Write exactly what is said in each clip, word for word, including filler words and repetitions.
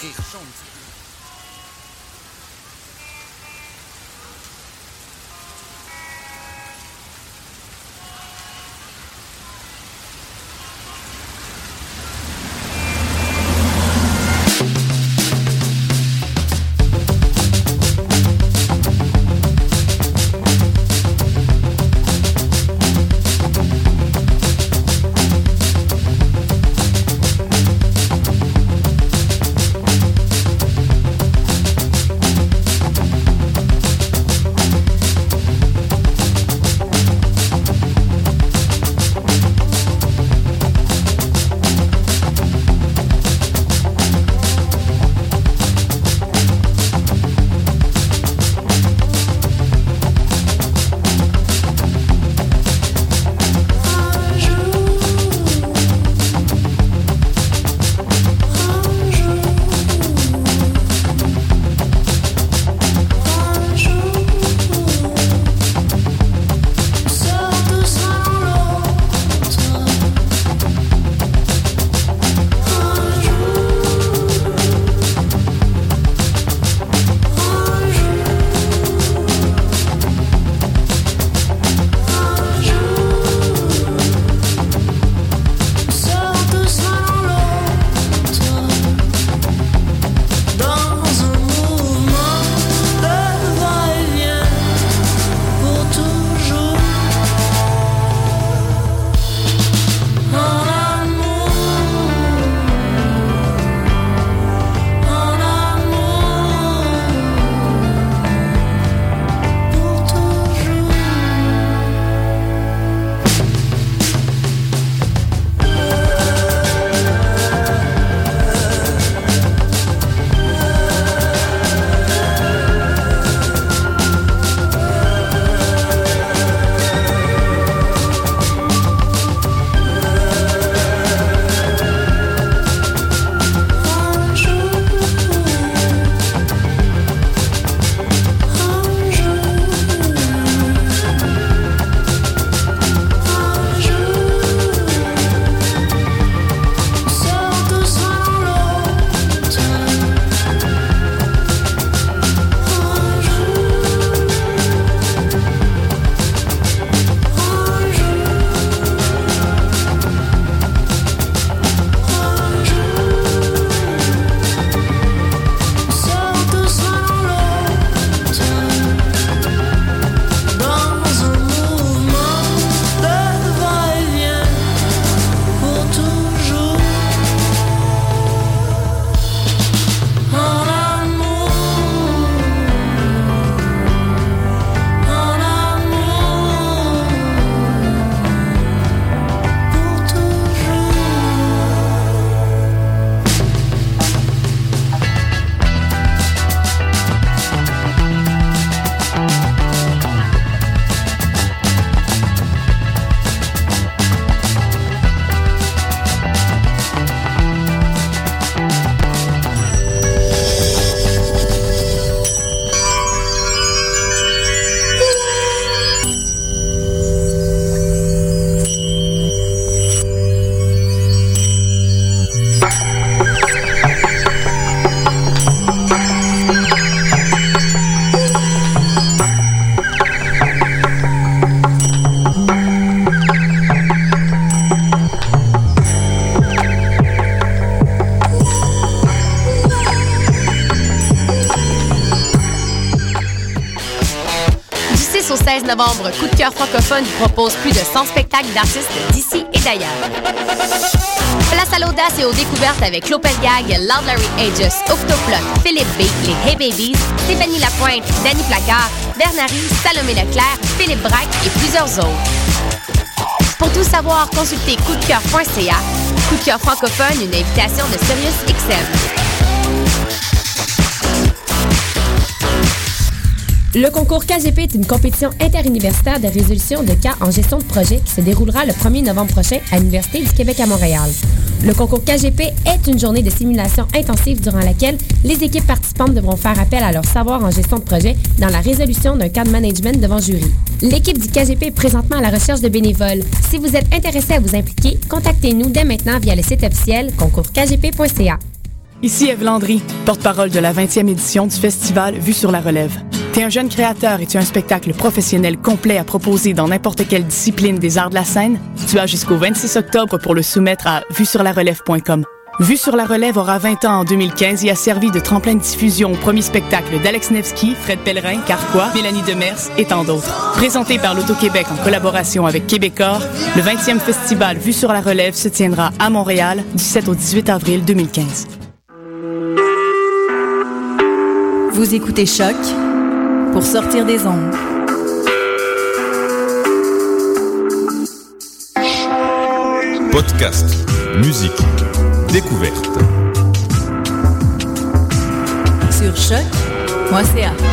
rire chaud. au seize novembre, Coup de cœur francophone vous propose plus de cent spectacles d'artistes d'ici et d'ailleurs. Place à l'audace et aux découvertes avec Clopelgag, Loud Larry Aegis, Octoplot, Philippe B, les Hey Babies, Stéphanie Lapointe, Danny Placard, Bernary, Salomé Leclerc, Philippe Braque et plusieurs autres. Pour tout savoir, consultez coup de cœur point c a. Coup de cœur francophone, une invitation de Sirius X M. Le concours K G P est une compétition interuniversitaire de résolution de cas en gestion de projet qui se déroulera le premier novembre prochain à l'Université du Québec à Montréal. Le concours K G P est une journée de simulation intensive durant laquelle les équipes participantes devront faire appel à leur savoir en gestion de projet dans la résolution d'un cas de management devant jury. L'équipe du K G P est présentement à la recherche de bénévoles. Si vous êtes intéressé à vous impliquer, contactez-nous dès maintenant via le site officiel concours k g p point c a. Ici Ève Landry, porte-parole de la vingtième édition du festival Vue sur la relève. T'es un jeune créateur et tu as un spectacle professionnel complet à proposer dans n'importe quelle discipline des arts de la scène? Tu as jusqu'au vingt-six octobre pour le soumettre à vue sur la relève point com. Vue sur la relève aura vingt ans en deux mille quinze et a servi de tremplin de diffusion au premier spectacle d'Alex Nevsky, Fred Pellerin, Carquois, Mélanie Demers et tant d'autres. Présenté par l'Auto-Québec en collaboration avec Québecor, le vingtième festival Vue sur la relève se tiendra à Montréal du sept au dix-huit avril deux mille quinze. Vous écoutez Choc pour sortir des ondes. Podcast, musique, découverte. Sur choc point c a.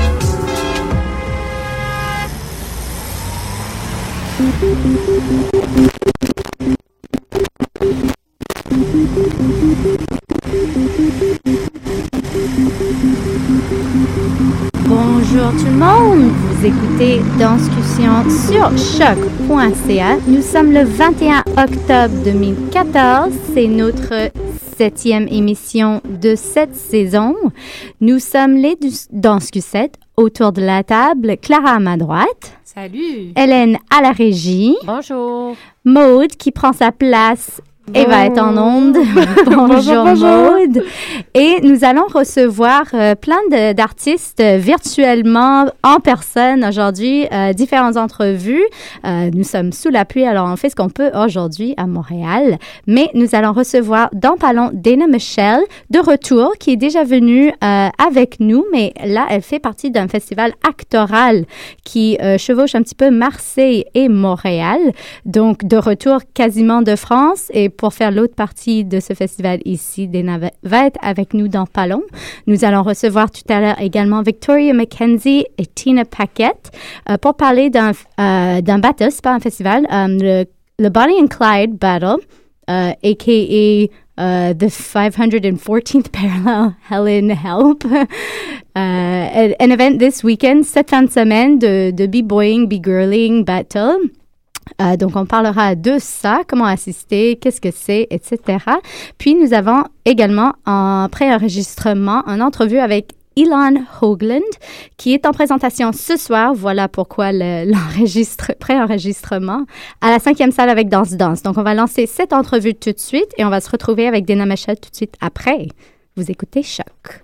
Bonjour tout le monde, vous écoutez Danscussion sur choc point c a. Nous sommes le vingt et un octobre deux mille quatorze, c'est notre septième émission de cette saison. Nous sommes les Danscusettes autour de la table. Clara à ma droite. Salut. Hélène à la régie. Bonjour. Maude qui prend sa place et va être en onde. Bonjour, Maude. Et nous allons recevoir euh, plein de, d'artistes euh, virtuellement, en personne aujourd'hui, euh, différentes entrevues. Euh, nous sommes sous la pluie, alors on fait ce qu'on peut aujourd'hui à Montréal. Mais nous allons recevoir dans pas long Dana Michelle de retour, qui est déjà venue euh, avec nous, mais là, elle fait partie d'un festival actoral qui euh, chevauche un petit peu Marseille et Montréal. Donc, de retour quasiment de France. Et pour faire l'autre partie de ce festival ici, Dana va être avec nous dans pas long. Nous allons recevoir tout à l'heure également Victoria McKenzie et Tina Paquette euh, pour parler d'un, euh, d'un battle, c'est pas un festival, um, le, le Bonnie and Clyde Battle, uh, a k a. Uh, the five hundred fourteenth Parallel Helen Help. uh, an event this weekend, cette fin de semaine de, de B-Boying, B-Girling Battle. Euh, donc, on parlera de ça, comment assister, qu'est-ce que c'est, et cetera. Puis, nous avons également en pré-enregistrement une entrevue avec Elon Hoagland, qui est en présentation ce soir. Voilà pourquoi le, l'enregistre, pré-enregistrement à la cinquième salle avec Danse Danse. Donc, on va lancer cette entrevue tout de suite et on va se retrouver avec Dana Michelle tout de suite après. Vous écoutez Choc.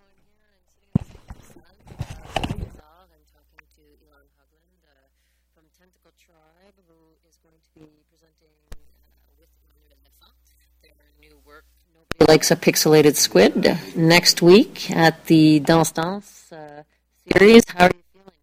Likes a pixelated squid next week at the Danse Danse uh, series. How are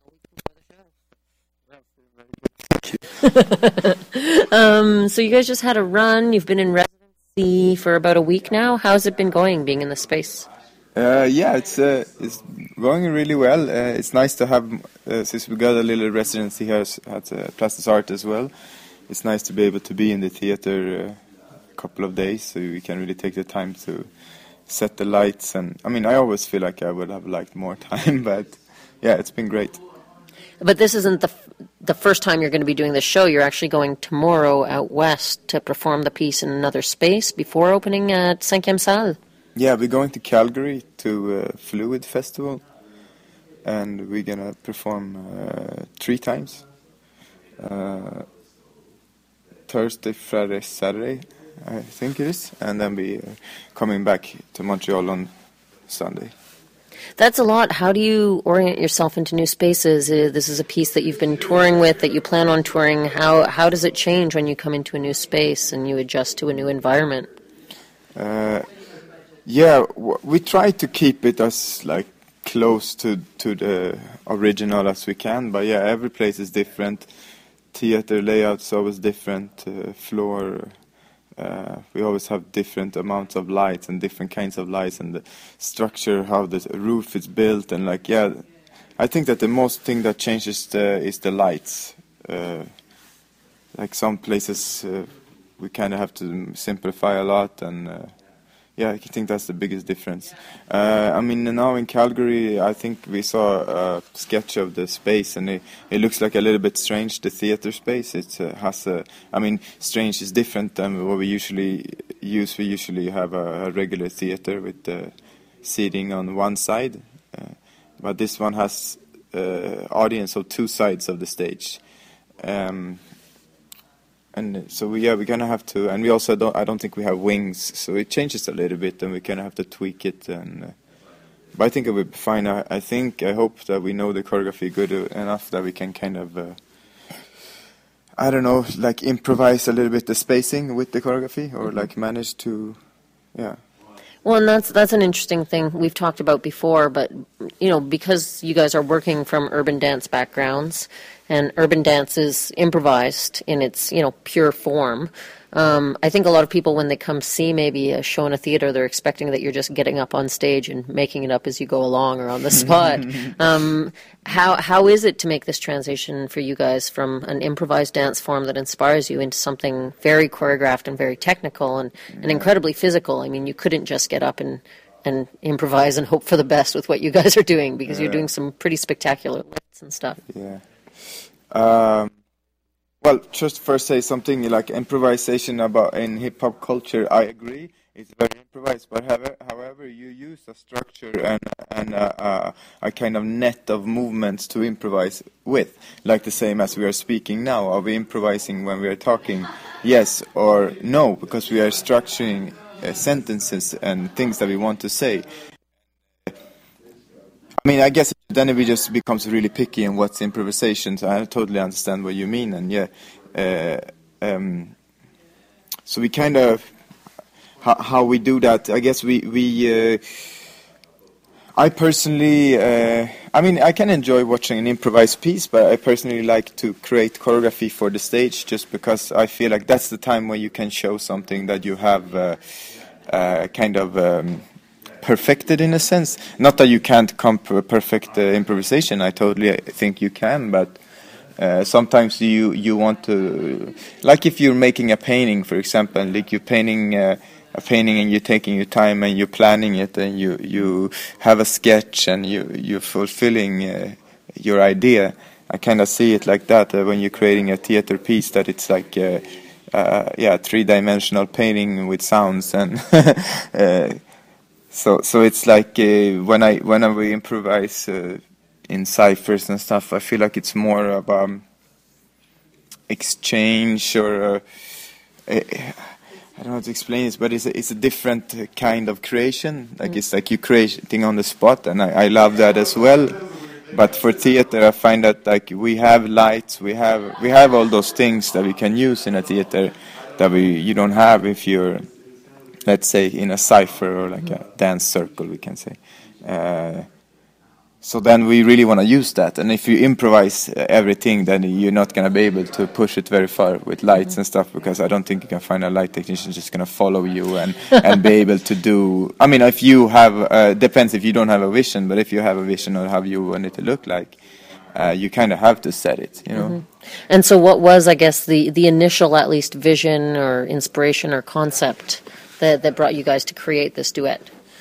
you feeling a week before the show? um, so you guys just had a run. You've been in residency for about a week now. How's it been going, being in the space? Uh, yeah, it's uh, it's going really well. Uh, it's nice to have, uh, since we got a little residency here at uh, Plastic Art as well. It's nice to be able to be in the theater. Uh, couple of days, so we can really take the time to set the lights. And I mean, I always feel like I would have liked more time, but yeah, it's been great. But this isn't the f- the first time you're going to be doing this show. You're actually going tomorrow out west to perform the piece in another space before opening at Cinquième Salle. Yeah, we're going to Calgary to uh, Fluid Festival, and we're going to perform uh, three times. Uh, Thursday, Friday, Saturday, I think it is, and then we are coming back to Montreal on Sunday. That's a lot. How do you orient yourself into new spaces? Uh, this is a piece that you've been touring with, that you plan on touring. How how does it change when you come into a new space and you adjust to a new environment? Uh, yeah, w- we try to keep it as like close to, to the original as we can, but yeah, every place is different. Theater layouts always different, uh, floor. Uh, we always have different amounts of lights and different kinds of lights, and the structure, how the roof is built, and like yeah, I think that the most thing that changes the, is the lights. Uh, like some places, uh, we kind of have to simplify a lot, and uh, yeah, I think that's the biggest difference. Uh, I mean, now in Calgary, I think we saw a sketch of the space, and it, it looks like a little bit strange, the theater space. It uh, has a, I mean, strange is different than what we usually use. We usually have a, a regular theater with the seating on one side, uh, but this one has uh, audience on two sides of the stage. Um, And so we, yeah, we're gonna have to, and we also don't. I don't think we have wings, so it changes a little bit, and we're gonna have to tweak it. And uh, but I think it will be fine. I, I think, I hope that we know the choreography good enough that we can kind of, uh, I don't know, like improvise a little bit the spacing with the choreography, or like manage to, yeah. Well, and that's that's an interesting thing we've talked about before, but, you know, because you guys are working from urban dance backgrounds, and urban dance is improvised in its, you know, pure form, um, I think a lot of people, when they come see maybe a show in a theater, they're expecting that you're just getting up on stage and making it up as you go along or on the spot. um, how how is it to make this transition for you guys from an improvised dance form that inspires you into something very choreographed and very technical and, and incredibly physical? I mean, you couldn't just get up and, and improvise and hope for the best with what you guys are doing, because you're doing some pretty spectacular lifts and stuff. Yeah. Um, well, just first say something like improvisation about in hip hop culture. I agree, it's very improvised. But however, however you use a structure and and a, a, a kind of net of movements to improvise with, like the same as we are speaking now. Are we improvising when we are talking? Yes or no, because we are structuring uh, sentences and things that we want to say. I mean, I guess then it just becomes really picky in what's improvisation. So I totally understand what you mean, and yeah, uh, um, so we kind of how, how we do that. I guess we we. Uh, I personally, uh, I mean, I can enjoy watching an improvised piece, but I personally like to create choreography for the stage, just because I feel like that's the time when you can show something that you have uh, uh, kind of. Um, perfected in a sense. Not that you can't comp- perfect uh, improvisation. I totally think you can, but uh, sometimes you you want to, like if you're making a painting, for example, like you're painting uh, a painting and you're taking your time and you're planning it and you you have a sketch and you you're fulfilling uh, your idea. I kind of see it like that uh, when you're creating a theater piece, that it's like uh, uh, yeah, three-dimensional painting with sounds and. uh, So, so it's like uh, when I when we improvise uh, in ciphers and stuff, I feel like it's more about um, exchange, or uh, uh, I don't know how to explain this, but it's a, it's a different kind of creation. Like mm. It's like you creating on the spot, and I, I love that as well. But for theater, I find that like we have lights, we have we have all those things that we can use in a theater that we you don't have if you're, let's say, in a cipher or like a dance circle, we can say. Uh, so then we really want to use that. And if you improvise everything, then you're not going to be able to push it very far with lights and stuff, because I don't think you can find a light technician just going to follow you and, and be able to do... I mean, if you have... Uh, depends if you don't have a vision, but if you have a vision of how you want it to look like, uh, you kind of have to set it, you know. Mm-hmm. And so what was, I guess, the, the initial, at least, vision or inspiration or concept that, that brought you guys to create this duet?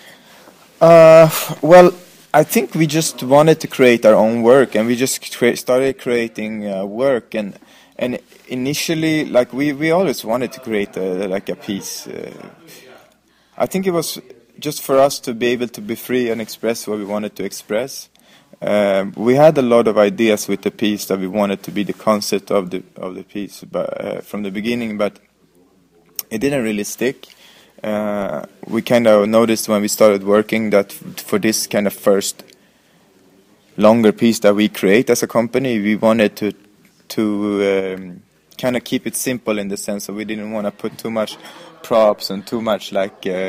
Uh, well, I think we just wanted to create our own work, and we just cre- started creating uh, work. And and initially, like we, we always wanted to create a, like a piece. Uh, I think it was just for us to be able to be free and express what we wanted to express. Uh, we had a lot of ideas with the piece that we wanted to be the concept of the of the piece, but uh, from the beginning, but it didn't really stick. Uh, we kind of noticed when we started working that f- for this kind of first longer piece that we create as a company, we wanted to to um, kind of keep it simple, in the sense that we didn't want to put too much props and too much like uh,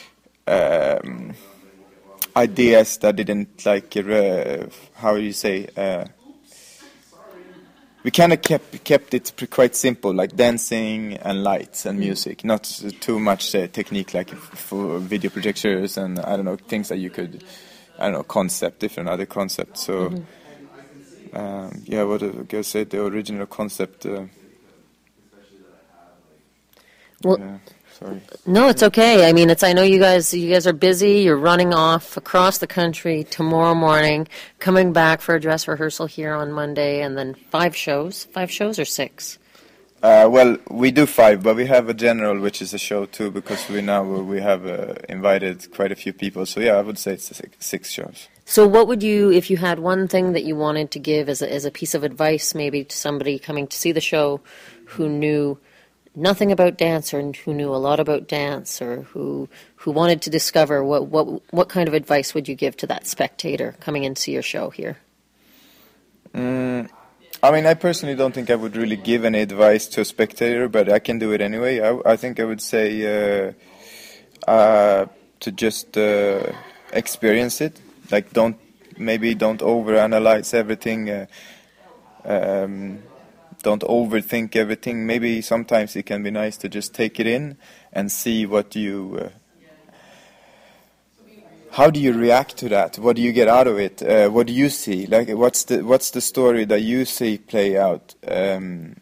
um, ideas that didn't like uh, how do you say uh, we kind of kept kept it quite simple, like dancing and lights and music, not too much uh, technique like for video projectors and I don't know, things that you could, I don't know, concept, different other concepts. So mm-hmm. um, yeah, what I say, the original concept. Uh, well, yeah. Sorry. No, it's okay. I mean, it's. I know you guys. You guys are busy. You're running off across the country tomorrow morning, coming back for a dress rehearsal here on Monday, and then five shows. Five shows or six? Uh, well, we do five, but we have a general, which is a show too, because we now we have uh, invited quite a few people. So yeah, I would say it's six, six shows. So, what would you, if you had one thing that you wanted to give as a, as a piece of advice, maybe to somebody coming to see the show, who knew nothing about dance or who knew a lot about dance or who who wanted to discover, what what what kind of advice would you give to that spectator coming in to see your show here? Mm, I mean, I personally don't think I would really give any advice to a spectator, but I can do it anyway. I, I think I would say uh, uh, to just uh, experience it. Like, don't maybe don't overanalyze everything. Uh, um, Don't overthink everything. Maybe sometimes it can be nice to just take it in and see what you... Uh, how do you react to that? What do you get out of it? Uh, what do you see? Like, what's the what's the story that you see play out? Um,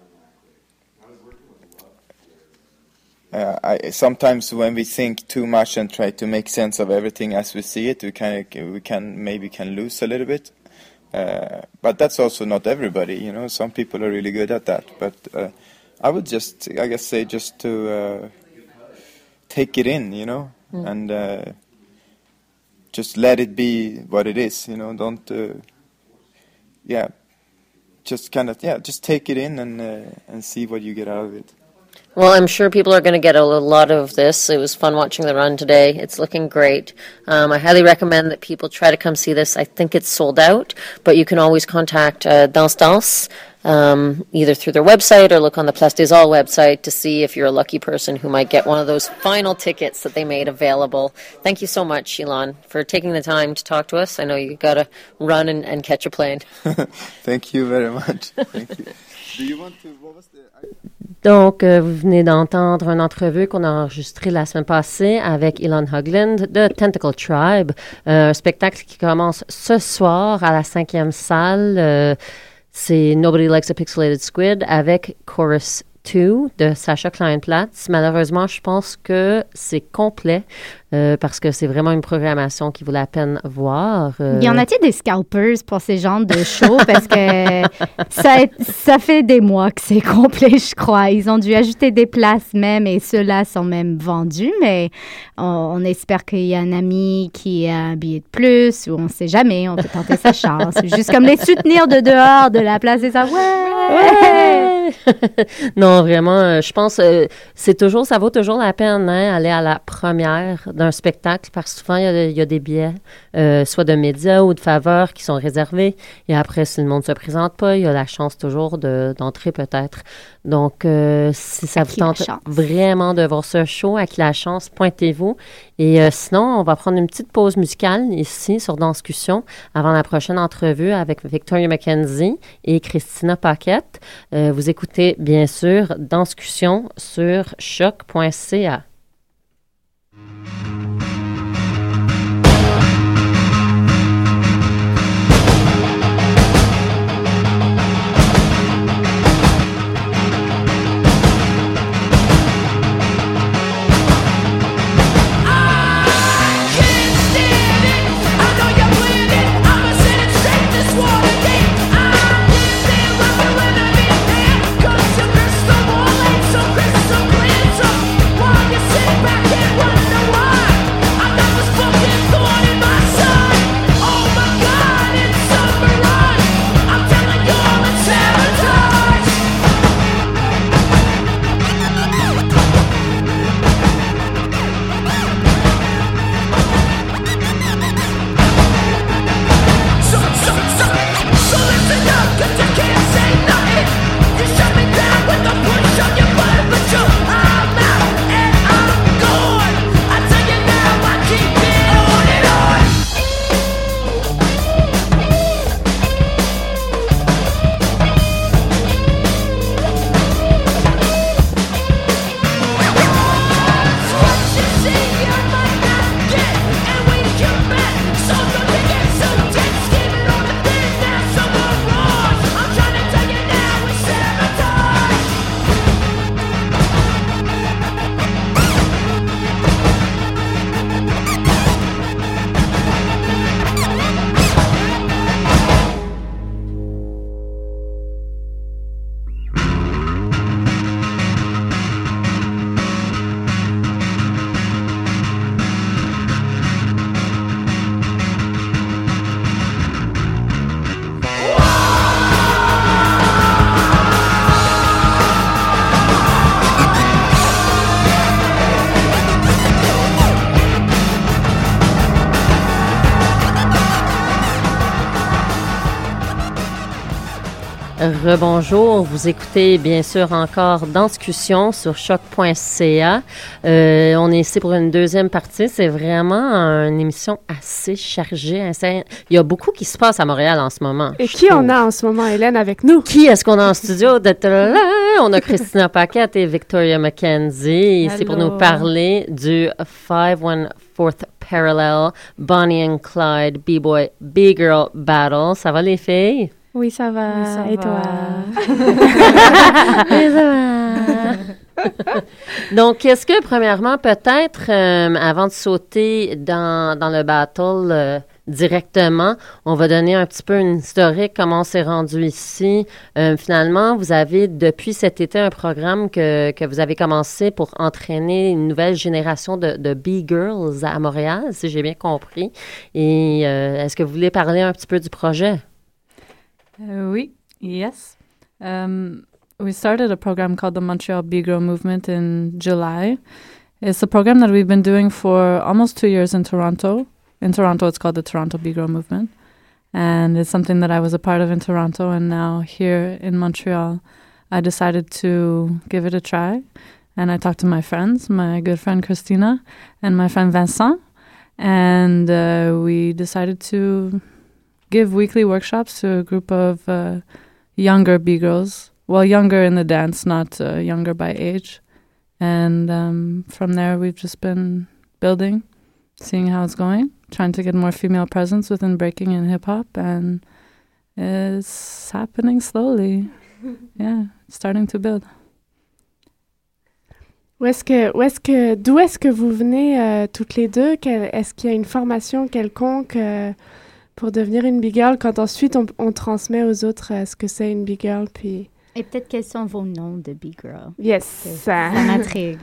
uh, I, sometimes when we think too much and try to make sense of everything as we see it, we kind of we can maybe can lose a little bit. Uh, but that's also not everybody, you know. Some people are really good at that. But uh, I would just, I guess, say just to uh, take it in, you know, mm. and uh, just let it be what it is, you know. Don't, uh, yeah, just kind of, yeah, just take it in and uh, and see what you get out of it. Well, I'm sure people are going to get a lot of this. It was fun watching the run today. It's looking great. Um, I highly recommend that people try to come see this. I think it's sold out, but you can always contact uh, Danse Danse, um, either through their website or look on the Place des Arts website to see if you're a lucky person who might get one of those final tickets that they made available. Thank you so much, Ilan, for taking the time to talk to us. I know you got to run and, and catch a plane. Thank you very much. Thank you. Do you want to... What was the... I... Donc, euh, vous venez d'entendre une entrevue qu'on a enregistrée la semaine passée avec Ilan Höglund de Tentacle Tribe, euh, un spectacle qui commence ce soir à la cinquième salle. Euh, c'est Nobody Likes a Pixelated Squid avec Chorus deux de Sacha Kleinplatz. Malheureusement, je pense que c'est complet euh, parce que c'est vraiment une programmation qui vaut la peine voir. Euh... Y en a-t-il des scalpers pour ces genres de shows? Parce que ça, ça fait des mois que c'est complet, je crois. Ils ont dû ajouter des places même et ceux-là sont même vendus, mais on, on espère qu'il y a un ami qui a un billet de plus ou on ne sait jamais, on peut tenter sa chance. Juste comme les soutenir de dehors de la place des Arts. Ouais! Ouais! Non, vraiment, euh, je pense euh, c'est toujours, ça vaut toujours la peine hein, aller à la première d'un spectacle parce que souvent, il y a, il y a des billets, euh, soit de médias ou de faveurs qui sont réservés. Et après, si le monde ne se présente pas, il y a la chance toujours de, d'entrer peut-être. Donc, euh, si ça vous tente vraiment de voir ce show, à qui la chance, pointez-vous. Et euh, sinon, on va prendre une petite pause musicale ici sur Danscussion avant la prochaine entrevue avec Victoria McKenzie et Christina Paquette. Euh, vous écoutez bien sûr Danscussion sur choc point c a. Cause your crystal ball ain't so crystal clear, so why you Rebonjour, vous écoutez bien sûr encore Dans Discussion sur choc point c a. Euh, on est ici pour une deuxième partie. C'est vraiment une émission assez chargée. Assez... Il y a beaucoup qui se passe à Montréal en ce moment. Et qui trouve. on a en ce moment, Hélène, avec nous? Qui est-ce qu'on a en studio? On a Christina Paquette et Victoria McKenzie ici pour nous parler du five one fourth Parallel Bonnie and Clyde B-Boy B-Girl Battle. Ça va les filles? Oui, ça va. Oui, ça Et va. toi? Oui, ça va. Donc, est-ce que, premièrement, peut-être, euh, avant de sauter dans, dans le battle euh, directement, on va donner un petit peu une historique, comment on s'est rendu ici. Euh, finalement, vous avez, depuis cet été, un programme que, que vous avez commencé pour entraîner une nouvelle génération de, de B-Girls à Montréal, si j'ai bien compris. Et euh, est-ce que vous voulez parler un petit peu du projet? Uh, oui, yes. Um, we started a program called the Montreal B-Girl Movement in July. It's a program that we've been doing for almost two years in Toronto. In Toronto, it's called the Toronto B-Girl Movement. And it's something that I was a part of in Toronto. And now here in Montreal, I decided to give it a try. And I talked to my friends, my good friend Christina and my friend Vincent. And uh, we decided to give weekly workshops to a group of uh, younger B-girls. Well, younger in the dance, not uh, younger by age. And um, from there, we've just been building, seeing how it's going, trying to get more female presence within breaking and hip-hop. And it's happening slowly. Yeah, it's starting to build. Où est-ce que, où est-ce que, d'où est-ce que vous venez euh, toutes les deux? Quel, est-ce qu'il y a une formation quelconque euh, pour devenir une big girl, quand ensuite on, on transmet aux autres euh, ce que c'est une big girl, puis... Et peut-être quels sont vos noms de big girl? Yes. Ça, ça m'intrigue.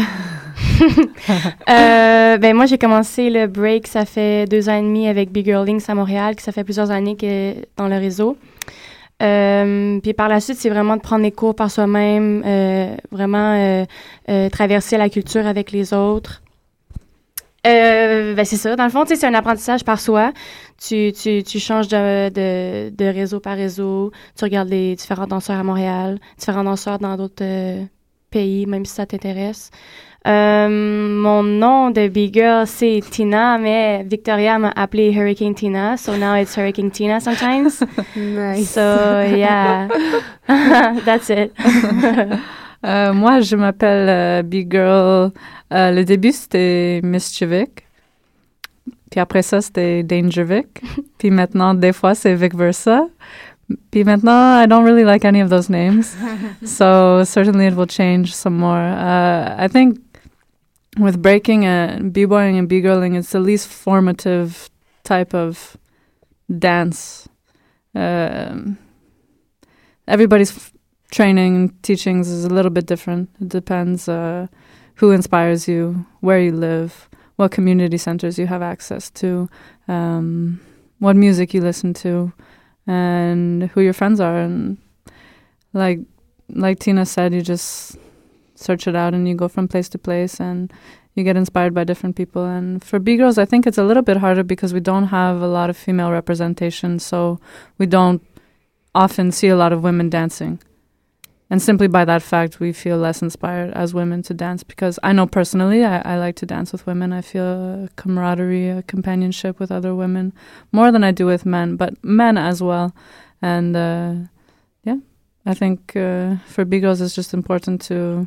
euh, ben moi, j'ai commencé le break, ça fait deux ans et demi avec Big Girl Links à Montréal, que ça fait plusieurs années que dans le réseau. Euh, puis par la suite, c'est vraiment de prendre les cours par soi-même, euh, vraiment euh, euh, traverser la culture avec les autres. Euh, ben c'est ça. Dans le fond, tu sais, c'est un apprentissage par soi. Tu, tu, tu changes de, de, de réseau par réseau. Tu regardes les différents danseurs à Montréal, différents danseurs dans d'autres euh, pays, même si ça t'intéresse. Euh, mon nom de big girl, c'est Tina, mais Victoria m'a appelé Hurricane Tina, so now it's Hurricane Tina sometimes. Nice. So, yeah. That's it. Euh, moi, je m'appelle euh, Big Girl. Euh, le début, c'était Mischievik. Puis après ça, c'était Dangervik. Puis maintenant, des fois, c'est Vic Versa. Puis maintenant, I don't really like any of those names. So certainly it will change some more. Uh, I think with breaking and b-boying and b-girling, it's the least formative type of dance. Um, everybody's f- training and teachings is a little bit different. It depends uh, who inspires you, where you live, what community centers you have access to, um, what music you listen to, and who your friends are. And like like Tina said, you just search it out and you go from place to place and you get inspired by different people. And for B-Girls, I think it's a little bit harder because we don't have a lot of female representation, so we don't often see a lot of women dancing. And simply by that fact, we feel less inspired as women to dance, because I know personally I, I like to dance with women. I feel a camaraderie, a companionship with other women more than I do with men, but men as well. And uh, yeah, I think uh, for B-Girls it's just important to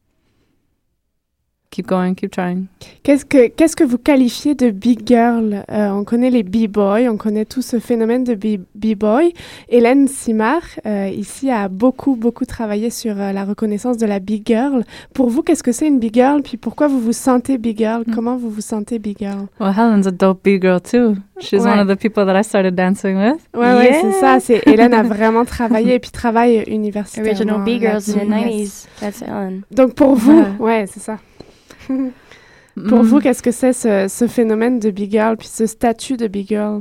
keep going, keep trying. Qu'est-ce que, qu'est-ce que vous qualifiez de big girl? Euh, on connaît les b-boys, on connaît tout ce phénomène de b- b-boy. Hélène Simard, euh, ici, a beaucoup, beaucoup travaillé sur euh, la reconnaissance de la big girl. Pour vous, qu'est-ce que c'est une big girl? Puis pourquoi vous vous sentez big girl? Mm. Comment vous vous sentez big girl? Well, Helen's a dope big girl too. She's ouais. one of the people that I started dancing with. Ouais, yeah. ouais, c'est ça. C'est, Hélène a vraiment travaillé et puis travaille universitairement. Original big girls in the nineties. That's Helen. Donc pour vous, ouais, ouais c'est ça. Pour mm. vous, qu'est-ce que c'est ce, ce phénomène de big girl, puis ce statut de big girl?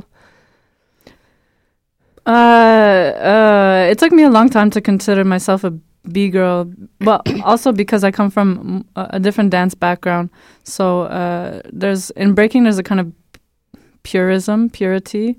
Uh, uh, it took me a long time to consider myself a B-girl, but also because I come from a, a different dance background. So uh, there's in breaking, there's a kind of purism, purity,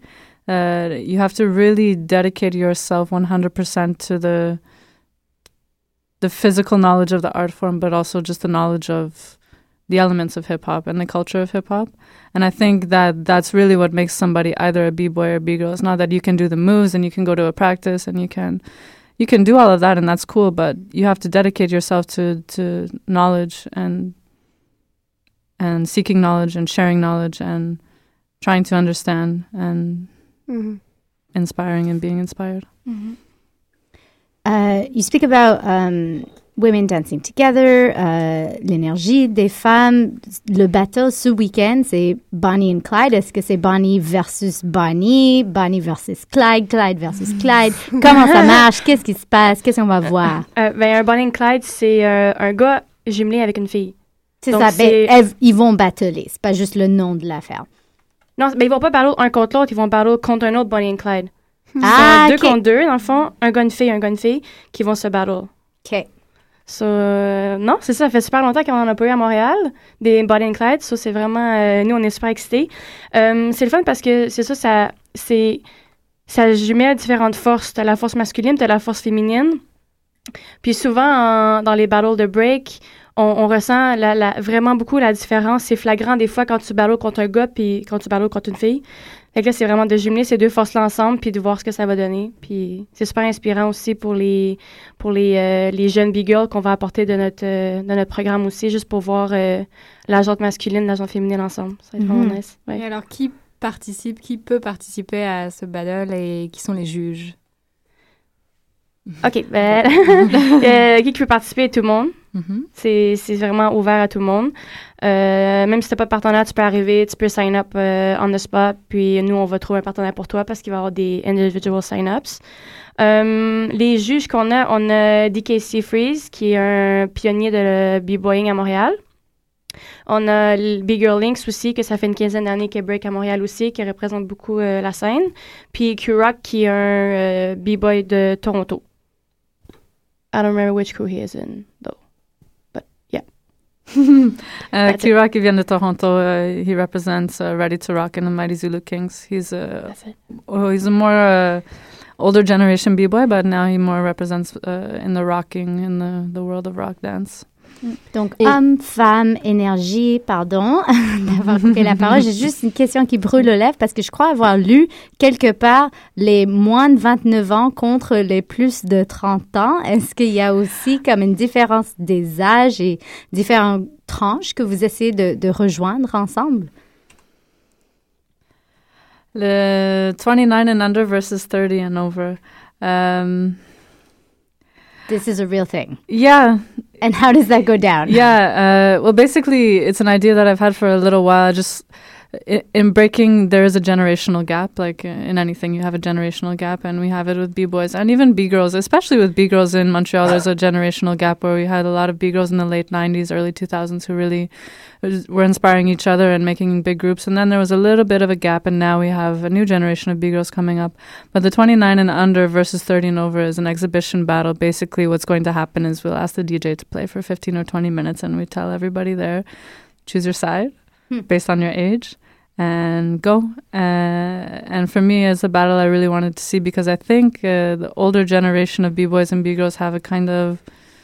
Uh, you have to really dedicate yourself one hundred percent to the the physical knowledge of the art form, but also just the knowledge of the elements of hip-hop and the culture of hip-hop. And I think that that's really what makes somebody either a b-boy or a b-girl. It's not that you can do the moves and you can go to a practice and you can you can do all of that, and that's cool, but you have to dedicate yourself to, to knowledge and and seeking knowledge and sharing knowledge and trying to understand and mm-hmm. inspiring and being inspired. Mm-hmm. Uh, you speak about um, women dancing together, uh, l'énergie des femmes. Le battle ce week-end, c'est Bonnie and Clyde. Est-ce que c'est Bonnie versus Bonnie, Bonnie versus Clyde, Clyde versus Clyde? Comment ça marche? Qu'est-ce qui se passe? Qu'est-ce qu'on va voir? Euh, ben, un Bonnie and Clyde, c'est euh, un gars jumelé avec une fille. C'est Donc, ça. C'est... Ben, elles, ils vont battler. C'est pas juste le nom de l'affaire. Non, ben, ils vont pas battle un contre l'autre. Ils vont battle contre un autre Bonnie and Clyde. Ah, c'est okay. deux contre deux, dans le fond. Un gars, une fille, un gars, une fille qui vont se battle. OK. So, euh, non, c'est ça. Ça fait super longtemps qu'on en a pas eu à Montréal, des Bonnie and Clyde. So, c'est vraiment... Euh, nous, on est super excités. Euh, c'est le fun parce que c'est ça, ça, c'est, ça jumelle différentes forces. T'as la force masculine, t'as la force féminine. Puis souvent, en, dans les battles de break, on, on ressent la, la, vraiment beaucoup la différence. C'est flagrant des fois quand tu battles contre un gars puis quand tu battles contre une fille. Fait que là, c'est vraiment de jumeler ces deux forces-là ensemble puis de voir ce que ça va donner. Puis c'est super inspirant aussi pour les pour les, euh, les jeunes B-girls qu'on va apporter de notre, euh, de notre programme aussi, juste pour voir euh, la jante masculine, la jante féminine ensemble. Ça va être mm-hmm. vraiment nice. Ouais. Et alors, qui participe, qui peut participer à ce battle et qui sont les juges? OK. Ben, euh, qui peut participer? Tout le monde. Mm-hmm. C'est, c'est vraiment ouvert à tout le monde. Euh, même si tu n'as pas de partenaire, tu peux arriver, tu peux sign up euh, on the spot, puis nous, on va trouver un partenaire pour toi parce qu'il va y avoir des individual sign-ups. Euh, les juges qu'on a, on a D K C Freeze, qui est un pionnier de b-boying à Montréal. On a B-Girl Links aussi, que ça fait une quinzaine d'années qu'elle break à Montréal aussi, qui représente beaucoup euh, la scène. Puis Q-Rock, qui est un euh, b-boy de Toronto. I don't remember which crew he is in, though. But, yeah. uh, Q-Rock, he vient de Toronto. Uh, he represents uh, Ready to Rock and the Mighty Zulu Kings. He's a, oh, he's a more uh, older generation b-boy, but now he more represents uh, in the rocking, in the, the world of rock dance. Donc, Et... homme, femme, énergie, pardon d'avoir coupé la parole. J'ai juste une question qui brûle aux lèvres parce que je crois avoir lu quelque part les moins de vingt-neuf ans contre les plus de trente ans. Est-ce qu'il y a aussi comme une différence des âges et différentes tranches que vous essayez de, de rejoindre ensemble? Le twenty-nine and under versus thirty and over. Um, This is a real thing. Yeah. And how does that go down? Yeah. Uh, well, basically, it's an idea that I've had for a little while. Just in, in breaking, there is a generational gap. Like in anything, you have a generational gap, and we have it with B-boys and even B-girls, especially with B-girls in Montreal. There's a generational gap where we had a lot of B-girls in the late nineties, early two thousands who really were inspiring each other and making big groups. And then there was a little bit of a gap, and now we have a new generation of B-girls coming up. But the twenty-nine and under versus thirty and over is an exhibition battle. Basically, what's going to happen is we'll ask the D J to play for fifteen or twenty minutes, and we tell everybody there, choose your side hmm. based on your age and go. Uh, and for me, as a battle, I really wanted to see, because I think uh, the older generation of B-boys and B-girls have a kind of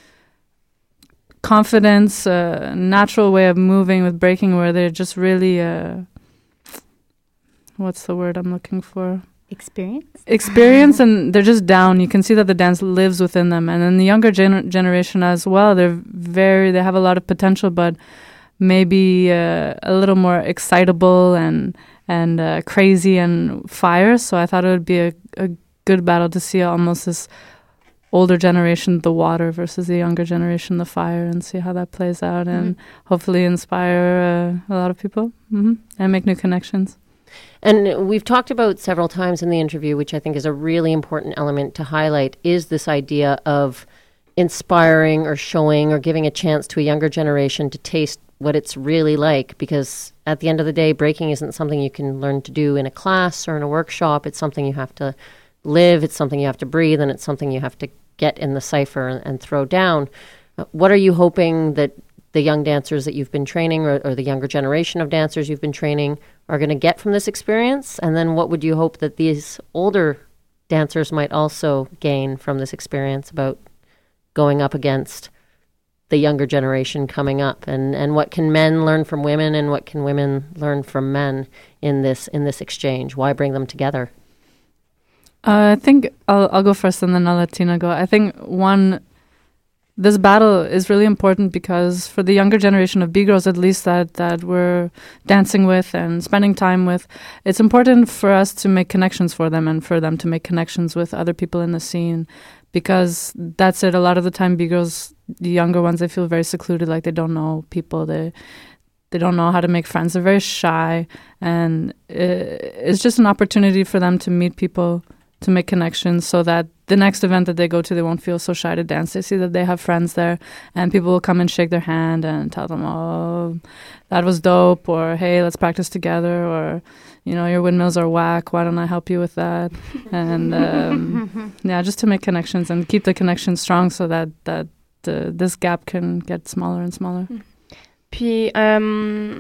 confidence, uh, natural way of moving with breaking, where they're just really, uh, what's the word I'm looking for? Experience? Experience, and they're just down. You can see that the dance lives within them. And then the younger gener- generation as well, they're very, they have a lot of potential, but maybe uh, a little more excitable and and uh, crazy and fire. So I thought it would be a, a good battle to see almost this older generation, the water, versus the younger generation, the fire, and see how that plays out, mm-hmm. and hopefully inspire uh, a lot of people mm-hmm. and make new connections. And we've talked about several times in the interview, which I think is a really important element to highlight, is this idea of inspiring or showing or giving a chance to a younger generation to taste what it's really like, because at the end of the day, breaking isn't something you can learn to do in a class or in a workshop. It's something you have to live, it's something you have to breathe, and it's something you have to get in the cipher and, and throw down. Uh, what are you hoping that the young dancers that you've been training or, or the younger generation of dancers you've been training are going to get from this experience? And then what would you hope that these older dancers might also gain from this experience about going up against the younger generation coming up? And, and what can men learn from women, and what can women learn from men in this in this exchange? Why bring them together? Uh, I think I'll, I'll go first and then I'll let Tina go. I think one... This battle is really important because for the younger generation of B-girls, at least that, that we're dancing with and spending time with, it's important for us to make connections for them and for them to make connections with other people in the scene, because that's it. A lot of the time, B-girls, the younger ones, they feel very secluded, like they don't know people. They they don't know how to make friends. They're very shy, and it, it's just an opportunity for them to meet people, to make connections, so that the next event that they go to, they won't feel so shy to dance. They see that they have friends there, and people will come and shake their hand and tell them, oh, that was dope, or hey, let's practice together, or, you know, your windmills are whack, why don't I help you with that? And um, yeah, just to make connections and keep the connection strong so that, that uh, this gap can get smaller and smaller. Puis, euh,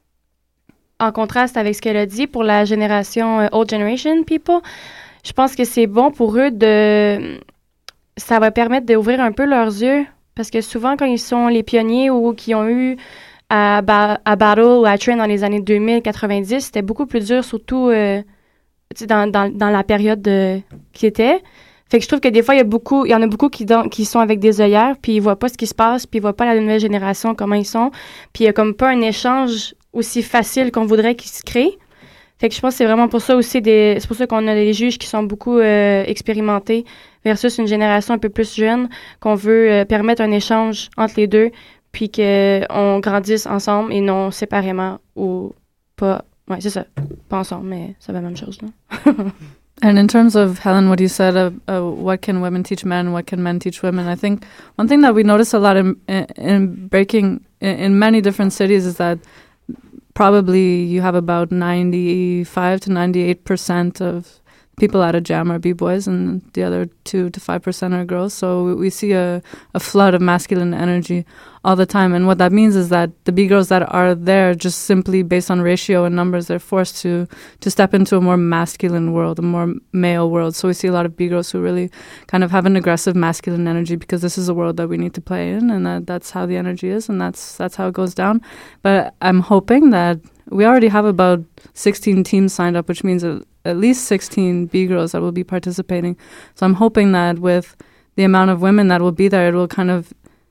en contraste avec ce qu'elle a dit pour la génération euh, Old Generation People, je pense que c'est bon pour eux de... Ça va permettre d'ouvrir un peu leurs yeux, parce que souvent, quand ils sont les pionniers ou qui ont eu à, ba- à battle ou à train dans les années deux mille quatre-vingt-dix, c'était beaucoup plus dur, surtout euh, dans, dans, dans la période de, qui était. Fait que je trouve que des fois, il y a beaucoup, il y en a beaucoup qui, dans, qui sont avec des œillères, puis ils voient pas ce qui se passe, puis ils voient pas la nouvelle génération, comment ils sont. Puis il y a comme pas un échange aussi facile qu'on voudrait qu'il se crée. Fait que je pense que c'est vraiment pour ça aussi, des, c'est pour ça qu'on a des juges qui sont beaucoup euh, expérimentés versus une génération un peu plus jeune, qu'on veut euh, permettre un échange entre les deux, puis qu'on grandisse ensemble et non séparément ou pas. Ouais, c'est ça. Pas ensemble, mais c'est la même chose, là. And in terms of, Helen, what you said, uh, uh, what can women teach men, what can men teach women, I think one thing that we notice a lot in, in, in breaking in, in many different cities is that probably you have about ninety-five to ninety-eight percent of people at a jam are B-boys, and the other two to five percent are girls. So we see a, a flood of masculine energy all the time. And what that means is that the B-girls that are there, just simply based on ratio and numbers, they're forced to, to step into a more masculine world, a more male world. So we see a lot of B-girls who really kind of have an aggressive masculine energy, because this is a world that we need to play in, and that, that's how the energy is, and that's that's how it goes down. But I'm hoping that we already have about sixteen teams signed up, which means a, at least sixteen B-girls that will be participating. So I'm hoping that with the amount of women that will be there, it will kind of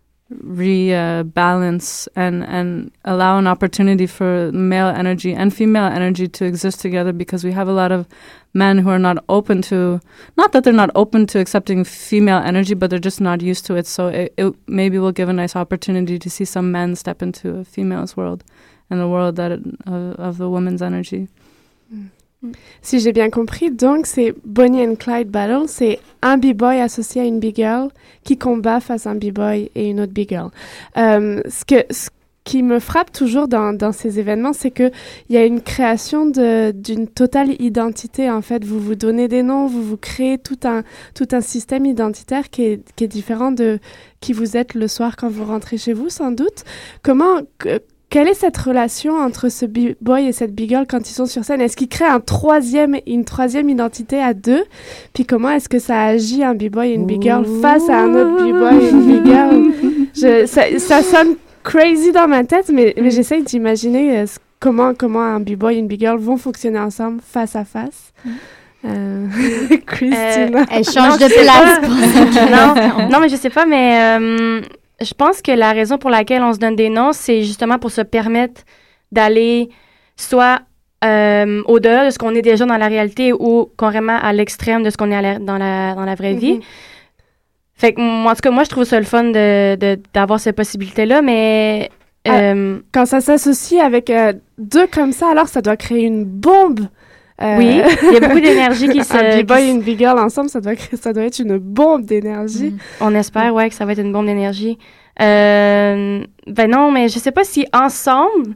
rebalance uh, and, and allow an opportunity for male energy and female energy to exist together, because we have a lot of men who are not open to, not that they're not open to accepting female energy, but they're just not used to it. So it, it maybe will give a nice opportunity to see some men step into a female's world and the world that it, of, of the woman's energy. Mm. Si j'ai bien compris, donc c'est Bonnie and Clyde Battle, c'est un b-boy associé à une b-girl qui combat face à un b-boy et une autre b-girl. Euh, ce, que, ce qui me frappe toujours dans, dans ces événements, c'est qu'il y a une création de, d'une totale identité. En fait, vous vous donnez des noms, vous vous créez tout un, tout un système identitaire qui est, qui est différent de qui vous êtes le soir quand vous rentrez chez vous, sans doute. Comment... Que, Quelle est cette relation entre ce b-boy et cette b-girl quand ils sont sur scène? Est-ce qu'ils créent un troisième, une troisième identité à deux? Puis comment est-ce que ça agit un b-boy et une b-girl face à un autre b-boy et une b-girl? Je, ça, ça sonne crazy dans ma tête, mais, mais j'essaye d'imaginer euh, comment, comment un b-boy et une b-girl vont fonctionner ensemble face à face. Euh, Christina. Euh, elle change de place. non, non, mais je sais pas, mais... Euh, je pense que la raison pour laquelle on se donne des noms, c'est justement pour se permettre d'aller soit euh, au-delà de ce qu'on est déjà dans la réalité ou carrément à l'extrême de ce qu'on est à la, dans, la, dans la vraie mm-hmm. vie. Fait que, moi, en tout cas, moi, je trouve ça le fun de, de, d'avoir cette possibilité-là, mais... Euh, Quand ça s'associe avec euh, deux comme ça, alors ça doit créer une bombe. Euh, oui, il y a beaucoup d'énergie qui se... Un b-boy et une b-girl ensemble, ça doit, ça doit être une bombe d'énergie. Mm. On espère, ouais, que ça va être une bombe d'énergie. Euh, ben non, mais je sais pas si ensemble,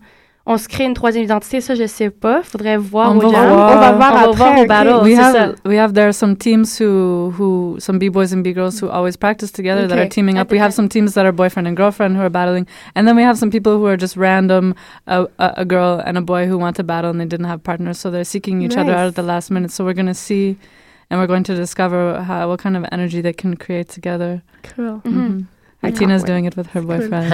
on se crée une troisième identité, ça, je sais pas. Faudrait voir On au va jam. voir. On va voir On va après. voir au okay. battle. We c'est have, ça. we have, there are some teams who, who, some B-boys and B-girls who always practice together that Okay. are teaming up. We have some teams that are boyfriend and girlfriend who are battling. And then we have some people who are just random, a, a, a girl and a boy who want to battle and they didn't have partners. So they're seeking each Nice. other out at the last minute. So we're going to see and we're going to discover how, what kind of energy they can create together. Cool. Mm-hmm. Tina's doing it with her boyfriend.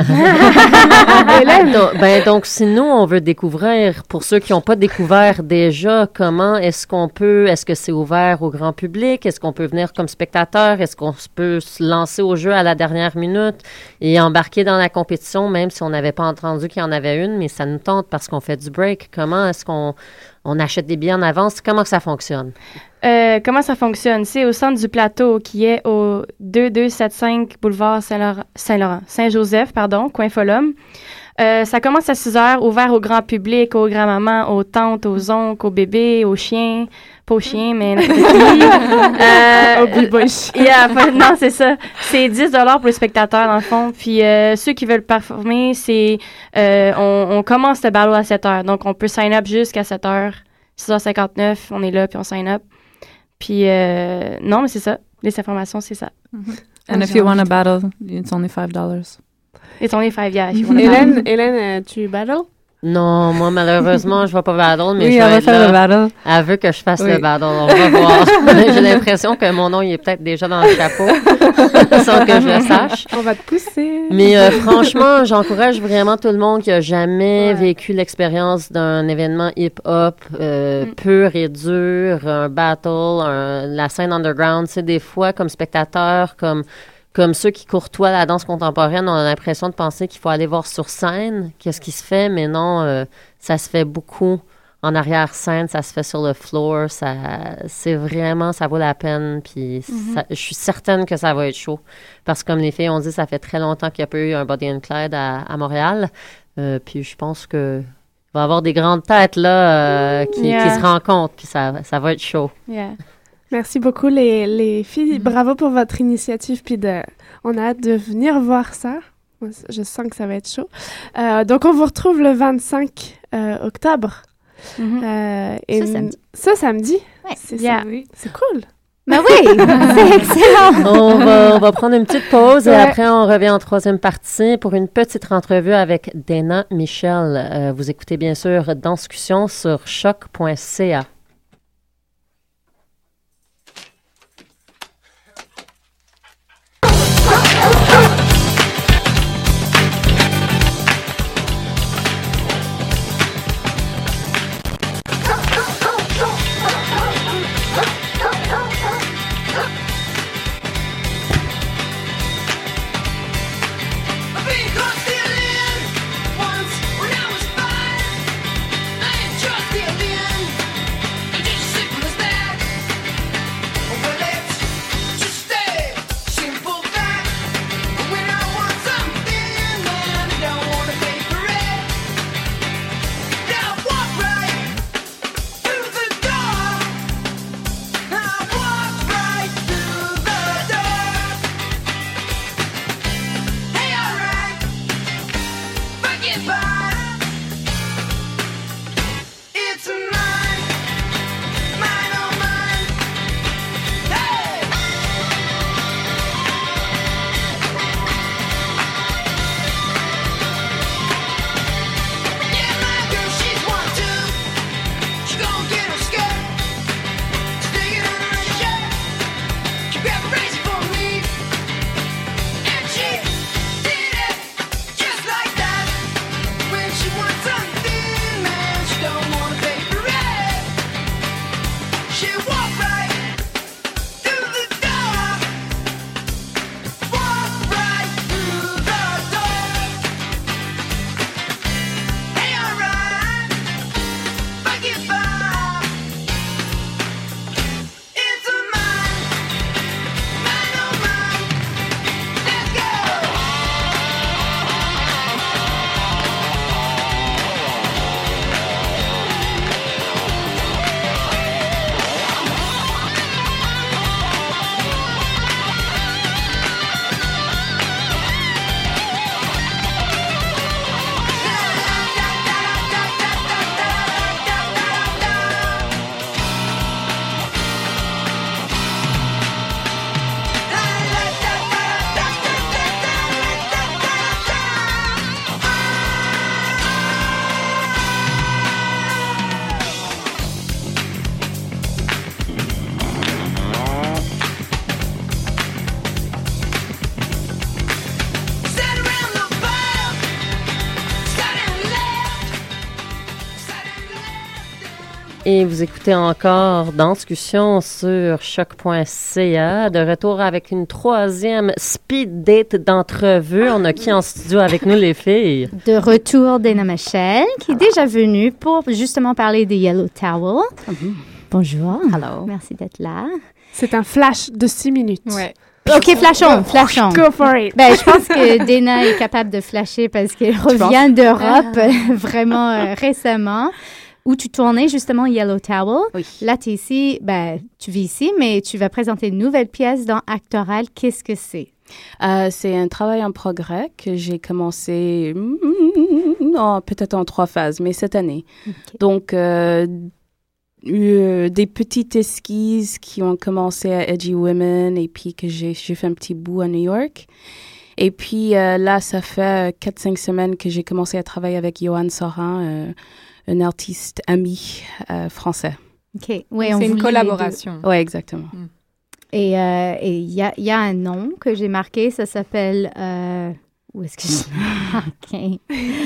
donc, ben, donc, si nous, on veut découvrir, pour ceux qui n'ont pas découvert déjà, comment est-ce qu'on peut, est-ce que c'est ouvert au grand public? Est-ce qu'on peut venir comme spectateur? Est-ce qu'on peut se lancer au jeu à la dernière minute et embarquer dans la compétition, même si on n'avait pas entendu qu'il y en avait une, mais ça nous tente parce qu'on fait du break? Comment est-ce qu'on on achète des billets en avance? Comment que ça fonctionne? Euh, comment ça fonctionne? C'est au centre du plateau qui est au deux deux sept cinq boulevard Saint-Laurent, Saint-Laurent, Saint-Joseph, pardon, coin Folum. Euh, ça commence à six heures, ouvert au grand public, aux grands-mamans, aux tantes, aux oncles, aux bébés, aux chiens. Pas aux chiens, mais n'importe qui. euh, Au b-boy chien. Yeah, pas- non, c'est ça. C'est dix dollars pour les spectateurs, dans le fond. Puis euh, ceux qui veulent performer, c'est... Euh, on, on commence le battle à sept heures. Donc, on peut sign up jusqu'à sept heures. six heures cinquante-neuf, on est là, puis on sign up. Puis, euh, non, mais c'est ça. Les informations, c'est ça. And if you want to battle, it's only five dollars. It's only five, yeah. if you wanna Hélène, battle. Hélène, euh, tu battle? Non, moi, malheureusement, je ne vais pas battle, mais Oui, je elle vais va être faire là. le battle. Elle veut que je fasse Oui. le battle. On va voir. J'ai l'impression que mon nom, il est peut-être déjà dans le chapeau, sans que je le sache. On va te pousser. Mais euh, franchement, j'encourage vraiment tout le monde qui a jamais vécu l'expérience d'un événement hip-hop euh, pur et dur, un battle, un- la scène underground. C'est des fois, comme spectateur, comme comme ceux qui courtoient la danse contemporaine, on a l'impression de penser qu'il faut aller voir sur scène qu'est-ce qui se fait, mais non, euh, ça se fait beaucoup en arrière-scène, ça se fait sur le floor, ça, c'est vraiment, ça vaut la peine, puis Mhm. ça- je suis certaine que ça va être chaud, parce que comme les filles ont dit, ça fait très longtemps qu'il n'y a pas eu un Body and Clyde à, à Montréal, euh, puis je pense que il va y avoir des grandes têtes là euh, qui, Yeah. qui se rencontrent, puis ça, ça va être chaud. Yeah. Merci beaucoup les, les filles. Bravo pour votre initiative. Puis de, on a hâte de venir voir ça. Moi, je sens que ça va être chaud. Euh, donc on vous retrouve le vingt-cinq euh, octobre. Euh, et Ce samedi. Ce samedi. Ouais. C'est Yeah. ça. C'est cool. Ben oui, c'est excellent. On va, on va prendre une petite pause et Ouais. après on revient en troisième partie pour une petite entrevue avec Dana Michel. Euh, vous écoutez bien sûr Danscussion sur choc point c a. Once when I was five, I ain't trust the alien. Et vous écoutez encore Danscussion sur choc point c a. De retour avec une troisième speed date d'entrevue. On a qui en studio avec nous, les filles? De retour Dana Michel, qui est déjà venue pour justement parler de Yellow Towel. Mm-hmm. Bonjour. Hello. Merci d'être là. C'est un flash de six minutes. Ouais. OK, flashons, flashons. Go for it. Ben, je pense que Dana est capable de flasher parce qu'elle revient d'Europe vraiment euh, récemment. Où tu tournais justement Yellow Towel. Oui. Là, tu es ici, ben, tu vis ici, mais tu vas présenter une nouvelle pièce dans Actoral. Qu'est-ce que c'est? Euh, c'est un travail en progrès que j'ai commencé mm, oh, peut-être en trois phases, mais cette année. Okay. Donc, euh, euh, des petites esquisses qui ont commencé à Edgy Women et puis que j'ai, j'ai fait un petit bout à New York. Et puis euh, là, ça fait quatre cinq semaines que j'ai commencé à travailler avec Johan Sorin, euh, un artiste ami euh, français. OK. Oui, c'est une collaboration. Oui, exactement. Mm. Et il euh, y, a, y a un nom que j'ai marqué, ça s'appelle... Euh, où est-ce que je l'ai marqué?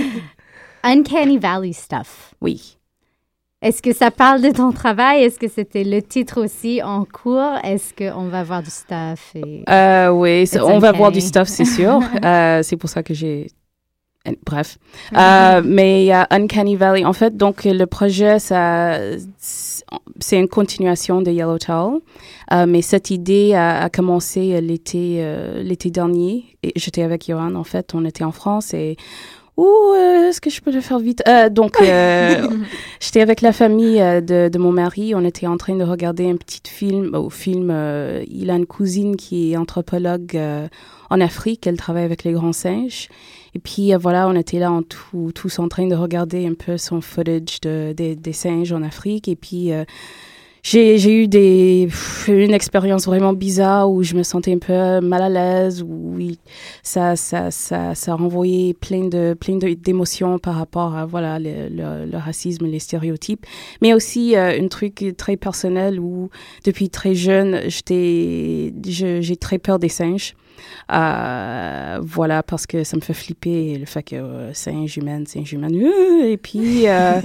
Uncanny Valley Stuff. Oui. Est-ce que ça parle de ton travail? Est-ce que c'était le titre aussi en cours? Est-ce qu'on va voir du stuff? Et... Euh, oui, on va voir du stuff, c'est sûr. euh, c'est pour ça que j'ai... Bref. euh, mais il y a Uncanny Valley. En fait, donc, le projet, ça, c'est une continuation de Yellow Towel. Euh, mais cette idée a, a commencé l'été, euh, l'été dernier. Et j'étais avec Johan, en fait. On était en France et... Ouh, euh, est-ce que je peux le faire vite? Euh, donc, euh, j'étais avec la famille euh, de, de mon mari. On était en train de regarder un petit film. Au film, euh, il a une cousine qui est anthropologue euh, en Afrique. Elle travaille avec les grands singes. Et puis, euh, voilà, on était là en tout, tous en train de regarder un peu son footage de, de, des singes en Afrique. Et puis, euh, j'ai, j'ai eu des, une expérience vraiment bizarre où je me sentais un peu mal à l'aise, où oui, ça, ça, ça, ça renvoyait plein de, plein de, d'émotions par rapport à, voilà, le, le, le racisme, les stéréotypes. Mais aussi, euh, un truc très personnel où, depuis très jeune, j'étais, je, j'ai très peur des singes. Euh, voilà, parce que ça me fait flipper le fait que euh, singe humaine, singe humaine. Euh, et puis euh,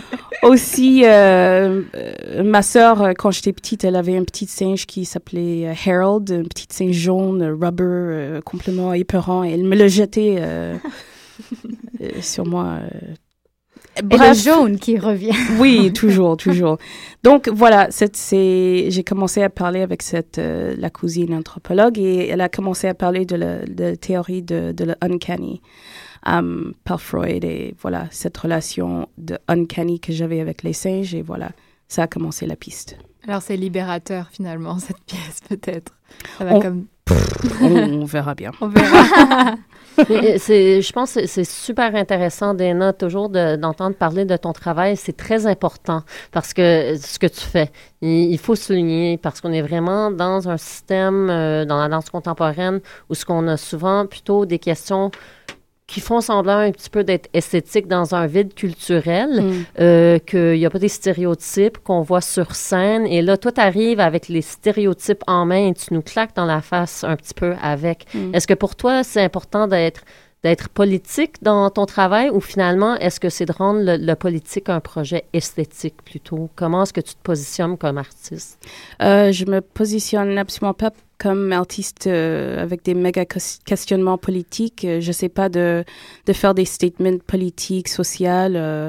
aussi, euh, euh, ma sœur, quand j'étais petite, elle avait un petit singe qui s'appelait euh, Harold, un petit singe jaune, rubber, euh, complètement épeurant. Et elle me le jetait euh, euh, sur moi. Euh, Bref. Et le jaune qui revient. Oui, toujours, toujours. Donc, voilà, c'est, c'est, j'ai commencé à parler avec cette, euh, la cousine anthropologue et elle a commencé à parler de la, de la théorie de, de l'uncanny um, par Freud et voilà, cette relation de uncanny que j'avais avec les singes et voilà, ça a commencé la piste. Alors, c'est libérateur finalement, cette pièce peut-être. Ça va on, comme... on, on verra bien. On verra. c'est, je pense que c'est super intéressant, Dana, toujours de, d'entendre parler de ton travail. C'est très important parce que ce que tu fais, il, il faut souligner parce qu'on est vraiment dans un système, euh, dans la danse contemporaine, où ce qu'on a souvent plutôt des questions qui font semblant un petit peu d'être esthétiques dans un vide culturel, mm. euh, qu'il n'y a pas des stéréotypes qu'on voit sur scène. Et là, toi, tu arrives avec les stéréotypes en main et tu nous claques dans la face un petit peu avec. Mm. Est-ce que pour toi, c'est important d'être, d'être politique dans ton travail ou finalement, est-ce que c'est de rendre le, le politique un projet esthétique plutôt? Comment est-ce que tu te positionnes comme artiste? Euh, je me positionne absolument pas comme artiste euh, avec des méga questionnements politiques. Euh, je ne sais pas de, de faire des statements politiques, sociaux. Euh,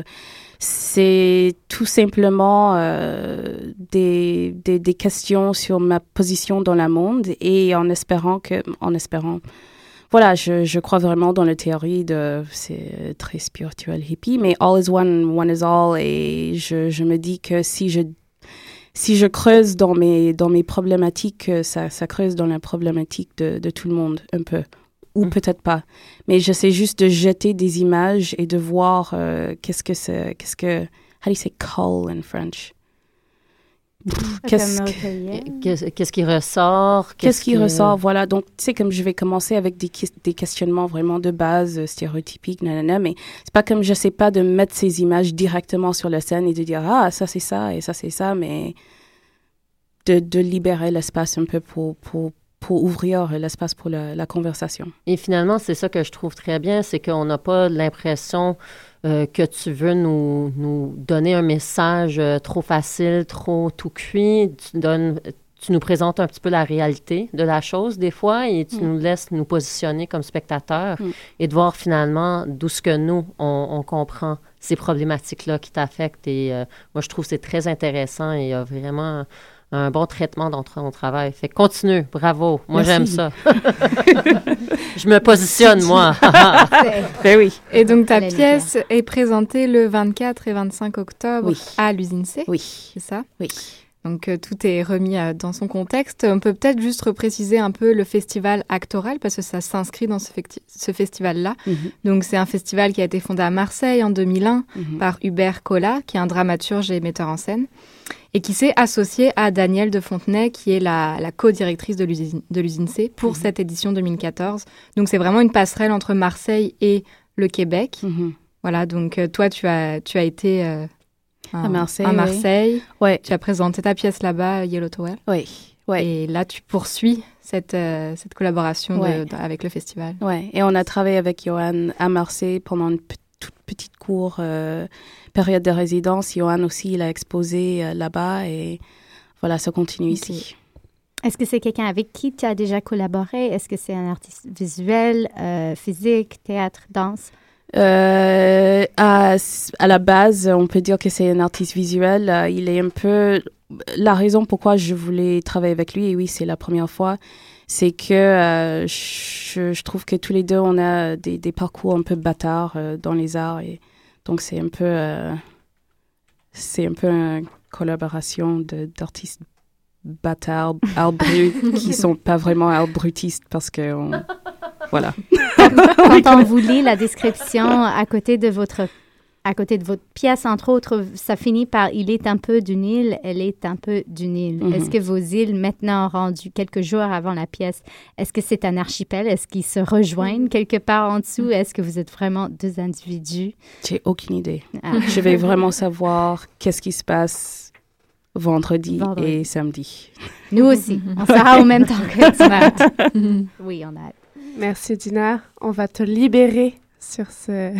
c'est tout simplement euh, des, des, des questions sur ma position dans le monde et en espérant que... En espérant, voilà, je, je crois vraiment dans la théorie de... C'est très spirituel, hippie, mais all is one, one is all. Et je, je me dis que si je... Si je creuse dans mes, dans mes problématiques, ça, ça creuse dans la problématique de, de tout le monde, un peu. Ou mmh. peut-être pas. Mais j'essaie juste de jeter des images et de voir euh, qu'est-ce que c'est, qu'est-ce que... How do you say call in French? Pff, qu'est-ce, que, qu'est-ce, qu'est-ce qui ressort? Qu'est-ce, qu'est-ce qui que... ressort, voilà. Donc, tu sais, comme je vais commencer avec des, des questionnements vraiment de base, stéréotypiques, nanana, mais c'est pas comme je sais pas de mettre ces images directement sur la scène et de dire, ah, ça c'est ça et ça c'est ça, mais de, de libérer l'espace un peu pour, pour, pour ouvrir l'espace pour la, la conversation. Et finalement, c'est ça que je trouve très bien, c'est qu'on n'a pas l'impression... euh, que tu veux nous, nous donner un message euh, trop facile, trop tout cuit. Tu donnes... Tu nous présentes un petit peu la réalité de la chose des fois et tu mm. nous laisses nous positionner comme spectateurs mm. et de voir finalement d'où ce que nous, on, on comprend ces problématiques-là qui t'affectent. Et euh, moi, je trouve que c'est très intéressant et il y a vraiment un bon traitement dans ton travail. Fait que continue, bravo. Moi, Merci. J'aime ça. Je me positionne, moi. Ben oui. Et donc, ta Allez, pièce bien. Est présentée le vingt-quatre et vingt-cinq octobre oui. à l'usine C. Oui. C'est ça? Oui. Donc, euh, tout est remis euh, dans son contexte. On peut peut-être juste repréciser un peu le festival Actoral, parce que ça s'inscrit dans ce, fecti- ce festival-là. Mm-hmm. Donc, c'est un festival qui a été fondé à Marseille en deux mille un mm-hmm. par Hubert Collat, qui est un dramaturge et metteur en scène, et qui s'est associé à Danielle de Fontenay, qui est la, la co-directrice de l'usine, de l'usine C, pour mm-hmm. cette édition deux mille quatorze. Donc, c'est vraiment une passerelle entre Marseille et le Québec. Mm-hmm. Voilà, donc euh, toi, tu as, tu as été... Euh, À Marseille. À Marseille. Oui. Ouais. Tu as présenté ta pièce là-bas, Yellow Tower. Oui. Ouais. Et là, tu poursuis cette, euh, cette collaboration ouais. de, de, avec le festival. Oui. Et on a travaillé avec Johan à Marseille pendant une p- toute petite courte euh, période de résidence. Johan aussi, il a exposé euh, là-bas et voilà, ça continue okay. ici. Est-ce que c'est quelqu'un avec qui tu as déjà collaboré? Est-ce que c'est un artiste visuel, euh, physique, théâtre, danse? Euh, à, à la base, on peut dire que c'est un artiste visuel. Euh, il est un peu... La raison pourquoi je voulais travailler avec lui, et oui, c'est la première fois, c'est que euh, je, je trouve que tous les deux, on a des, des parcours un peu bâtards euh, dans les arts. Et donc, c'est un peu... Euh, c'est un peu une collaboration de, d'artistes bâtards, art brut, qui sont pas vraiment art brutistes parce que... On, voilà. Quand on vous lit la description à côté de votre à côté de votre pièce, entre autres, ça finit par « Il est un peu d'une île, elle est un peu d'une île mm-hmm. ». Est-ce que vos îles, maintenant rendues quelques jours avant la pièce, est-ce que c'est un archipel? Est-ce qu'ils se rejoignent quelque part en dessous? Est-ce que vous êtes vraiment deux individus? J'ai aucune idée. Ah. Je vais vraiment savoir qu'est-ce qui se passe vendredi, vendredi. et samedi. Nous aussi. On sera au même temps que Dina. Oui, on a hâte. Merci Dina, on va te libérer sur ce...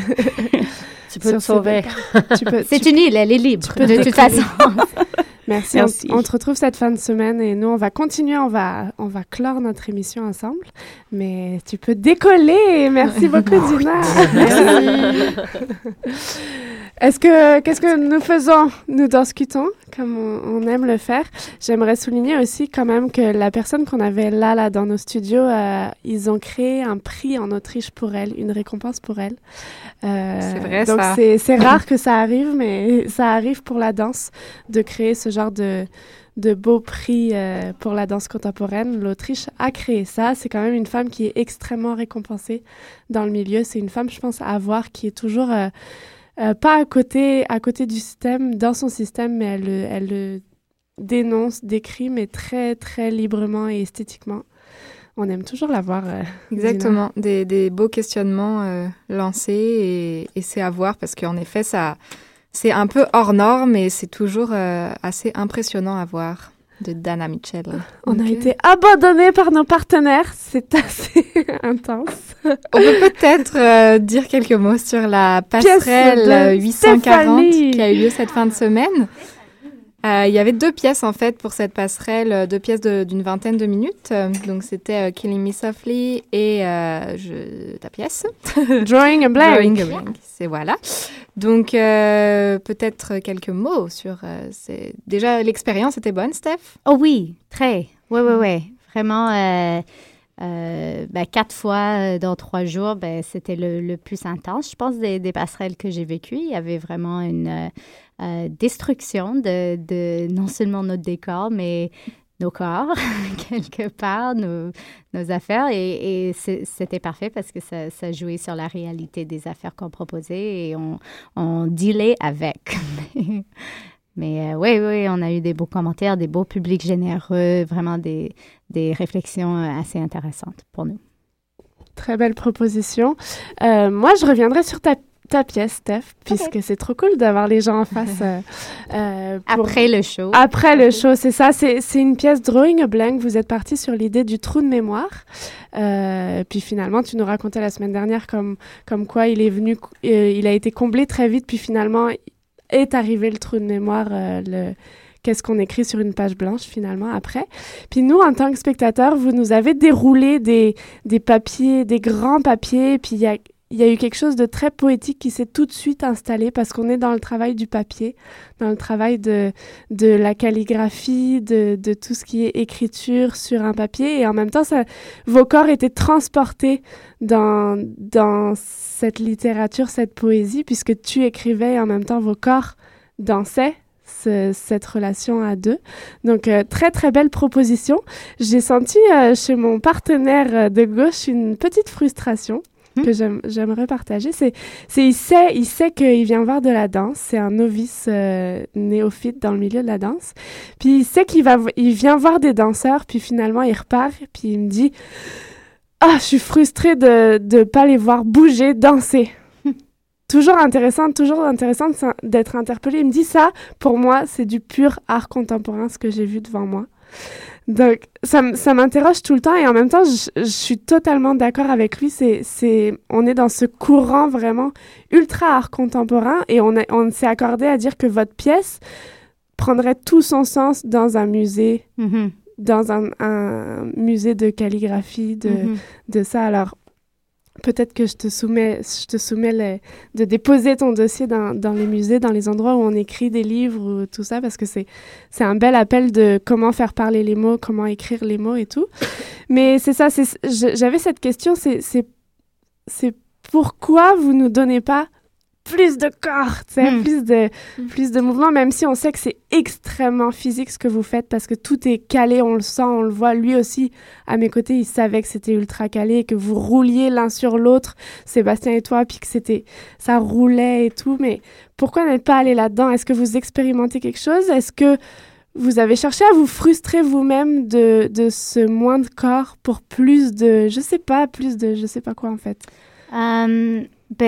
tu peux te sauver. Tu peux, C'est tu... une île, elle est libre, de toute façon. Merci, Merci. On, on te retrouve cette fin de semaine et nous, on va continuer, on va, on va clore notre émission ensemble. Mais tu peux décoller. Merci beaucoup Dina. Merci. Est-ce que, qu'est-ce que nous faisons, nous discutons, comme on, on aime le faire. J'aimerais souligner aussi quand même que la personne qu'on avait là, là dans nos studios, euh, ils ont créé un prix en Autriche pour elle, une récompense pour elle. Euh, c'est vrai, donc ça. c'est, c'est rare que ça arrive, mais ça arrive pour la danse de créer ce genre de, de beau prix euh, pour la danse contemporaine. L'Autriche a créé ça. C'est quand même une femme qui est extrêmement récompensée dans le milieu. C'est une femme, je pense, à voir qui est toujours... Euh, Euh, pas à côté, à côté du système, dans son système, mais elle, elle le dénonce, décrit, mais très, très librement et esthétiquement. On aime toujours la voir. Euh, Exactement, des, des beaux questionnements euh, lancés et, et c'est à voir parce qu'en effet, ça, c'est un peu hors norme et c'est toujours euh, assez impressionnant à voir. De Dana Mitchell. On okay. a été abandonnés par nos partenaires. C'est assez intense. On peut peut-être euh, dire quelques mots sur la passerelle huit cent quarante qui a eu lieu cette fin de semaine. Euh, il y avait deux pièces, en fait, pour cette passerelle, deux pièces de, d'une vingtaine de minutes. Donc, c'était euh, Killing Me Softly et euh, je, ta pièce. Drawing a Blank. Drawing a Blank, c'est voilà. Donc, euh, peut-être quelques mots sur... Euh, c'est... Déjà, l'expérience était bonne, Steph? Oh oui, très. Oui, oui, oui. Vraiment, euh, euh, ben, quatre fois dans trois jours, ben, c'était le, le plus intense, je pense, des, des passerelles que j'ai vécues. Il y avait vraiment une... Euh, Euh, destruction de, de non seulement notre décor, mais nos corps, quelque part, nos, nos affaires. Et, et c'était parfait parce que ça, ça jouait sur la réalité des affaires qu'on proposait et on, on dealait avec. Mais euh, oui, oui, on a eu des beaux commentaires, des beaux publics généreux, vraiment des, des réflexions assez intéressantes pour nous. Très belle proposition. Euh, moi, je reviendrai sur ta ta pièce, Steph, puisque okay. c'est trop cool d'avoir les gens en face. Euh, euh, pour... Après le show. Après le show, c'est ça. C'est, c'est une pièce Drawing a Blank. Vous êtes parti sur l'idée du trou de mémoire. Euh, puis finalement, tu nous racontais la semaine dernière comme, comme quoi il est venu, euh, il a été comblé très vite, puis finalement est arrivé le trou de mémoire, euh, le... Qu'est-ce qu'on écrit sur une page blanche, finalement, après. Puis nous, en tant que spectateurs, vous nous avez déroulé des, des papiers, des grands papiers, puis il y a, y a eu quelque chose de très poétique qui s'est tout de suite installé parce qu'on est dans le travail du papier, dans le travail de, de la calligraphie, de, de tout ce qui est écriture sur un papier. Et en même temps, ça, vos corps étaient transportés dans, dans cette littérature, cette poésie, puisque tu écrivais et en même temps, vos corps dansaient. Ce, cette relation à deux. Donc, euh, très, très belle proposition. J'ai senti euh, chez mon partenaire euh, de gauche une petite frustration mmh. que j'aime, j'aimerais partager. C'est, c'est, il sait, il sait qu'il vient voir de la danse. C'est un novice euh, néophyte dans le milieu de la danse. Puis, il sait qu'il va, il vient voir des danseurs, puis finalement, il repart, puis il me dit « Ah, je suis frustrée de ne pas les voir bouger, danser. » Toujours intéressant, toujours intéressant d'être interpellée. Il me dit ça, pour moi, c'est du pur art contemporain, ce que j'ai vu devant moi. Donc, ça, ça m'interroge tout le temps et en même temps, je, je suis totalement d'accord avec lui. C'est, c'est, on est dans ce courant vraiment ultra art contemporain et on, a, on s'est accordé à dire que votre pièce prendrait tout son sens dans un musée, mm-hmm. dans un, un musée de calligraphie, de, mm-hmm. de ça. Alors, peut-être que je te soumets, je te soumets les, de déposer ton dossier dans, dans les musées, dans les endroits où on écrit des livres ou tout ça, parce que c'est, c'est un bel appel de comment faire parler les mots, comment écrire les mots et tout. Mais c'est ça, c'est, j'avais cette question, c'est, c'est, c'est pourquoi vous nous donnez pas plus de corps, tu sais, mm. plus de mm. plus de mouvements, même si on sait que c'est extrêmement physique ce que vous faites parce que tout est calé, on le sent, on le voit. Lui aussi, à mes côtés, il savait que c'était ultra calé et que vous rouliez l'un sur l'autre, Sébastien et toi, puis que c'était, ça roulait et tout. Mais pourquoi n'être pas allé là-dedans? Est-ce que vous expérimentez quelque chose? Est-ce que vous avez cherché à vous frustrer vous-même de, de ce moins de corps pour plus de, je sais pas, plus de, je sais pas quoi en fait? Um...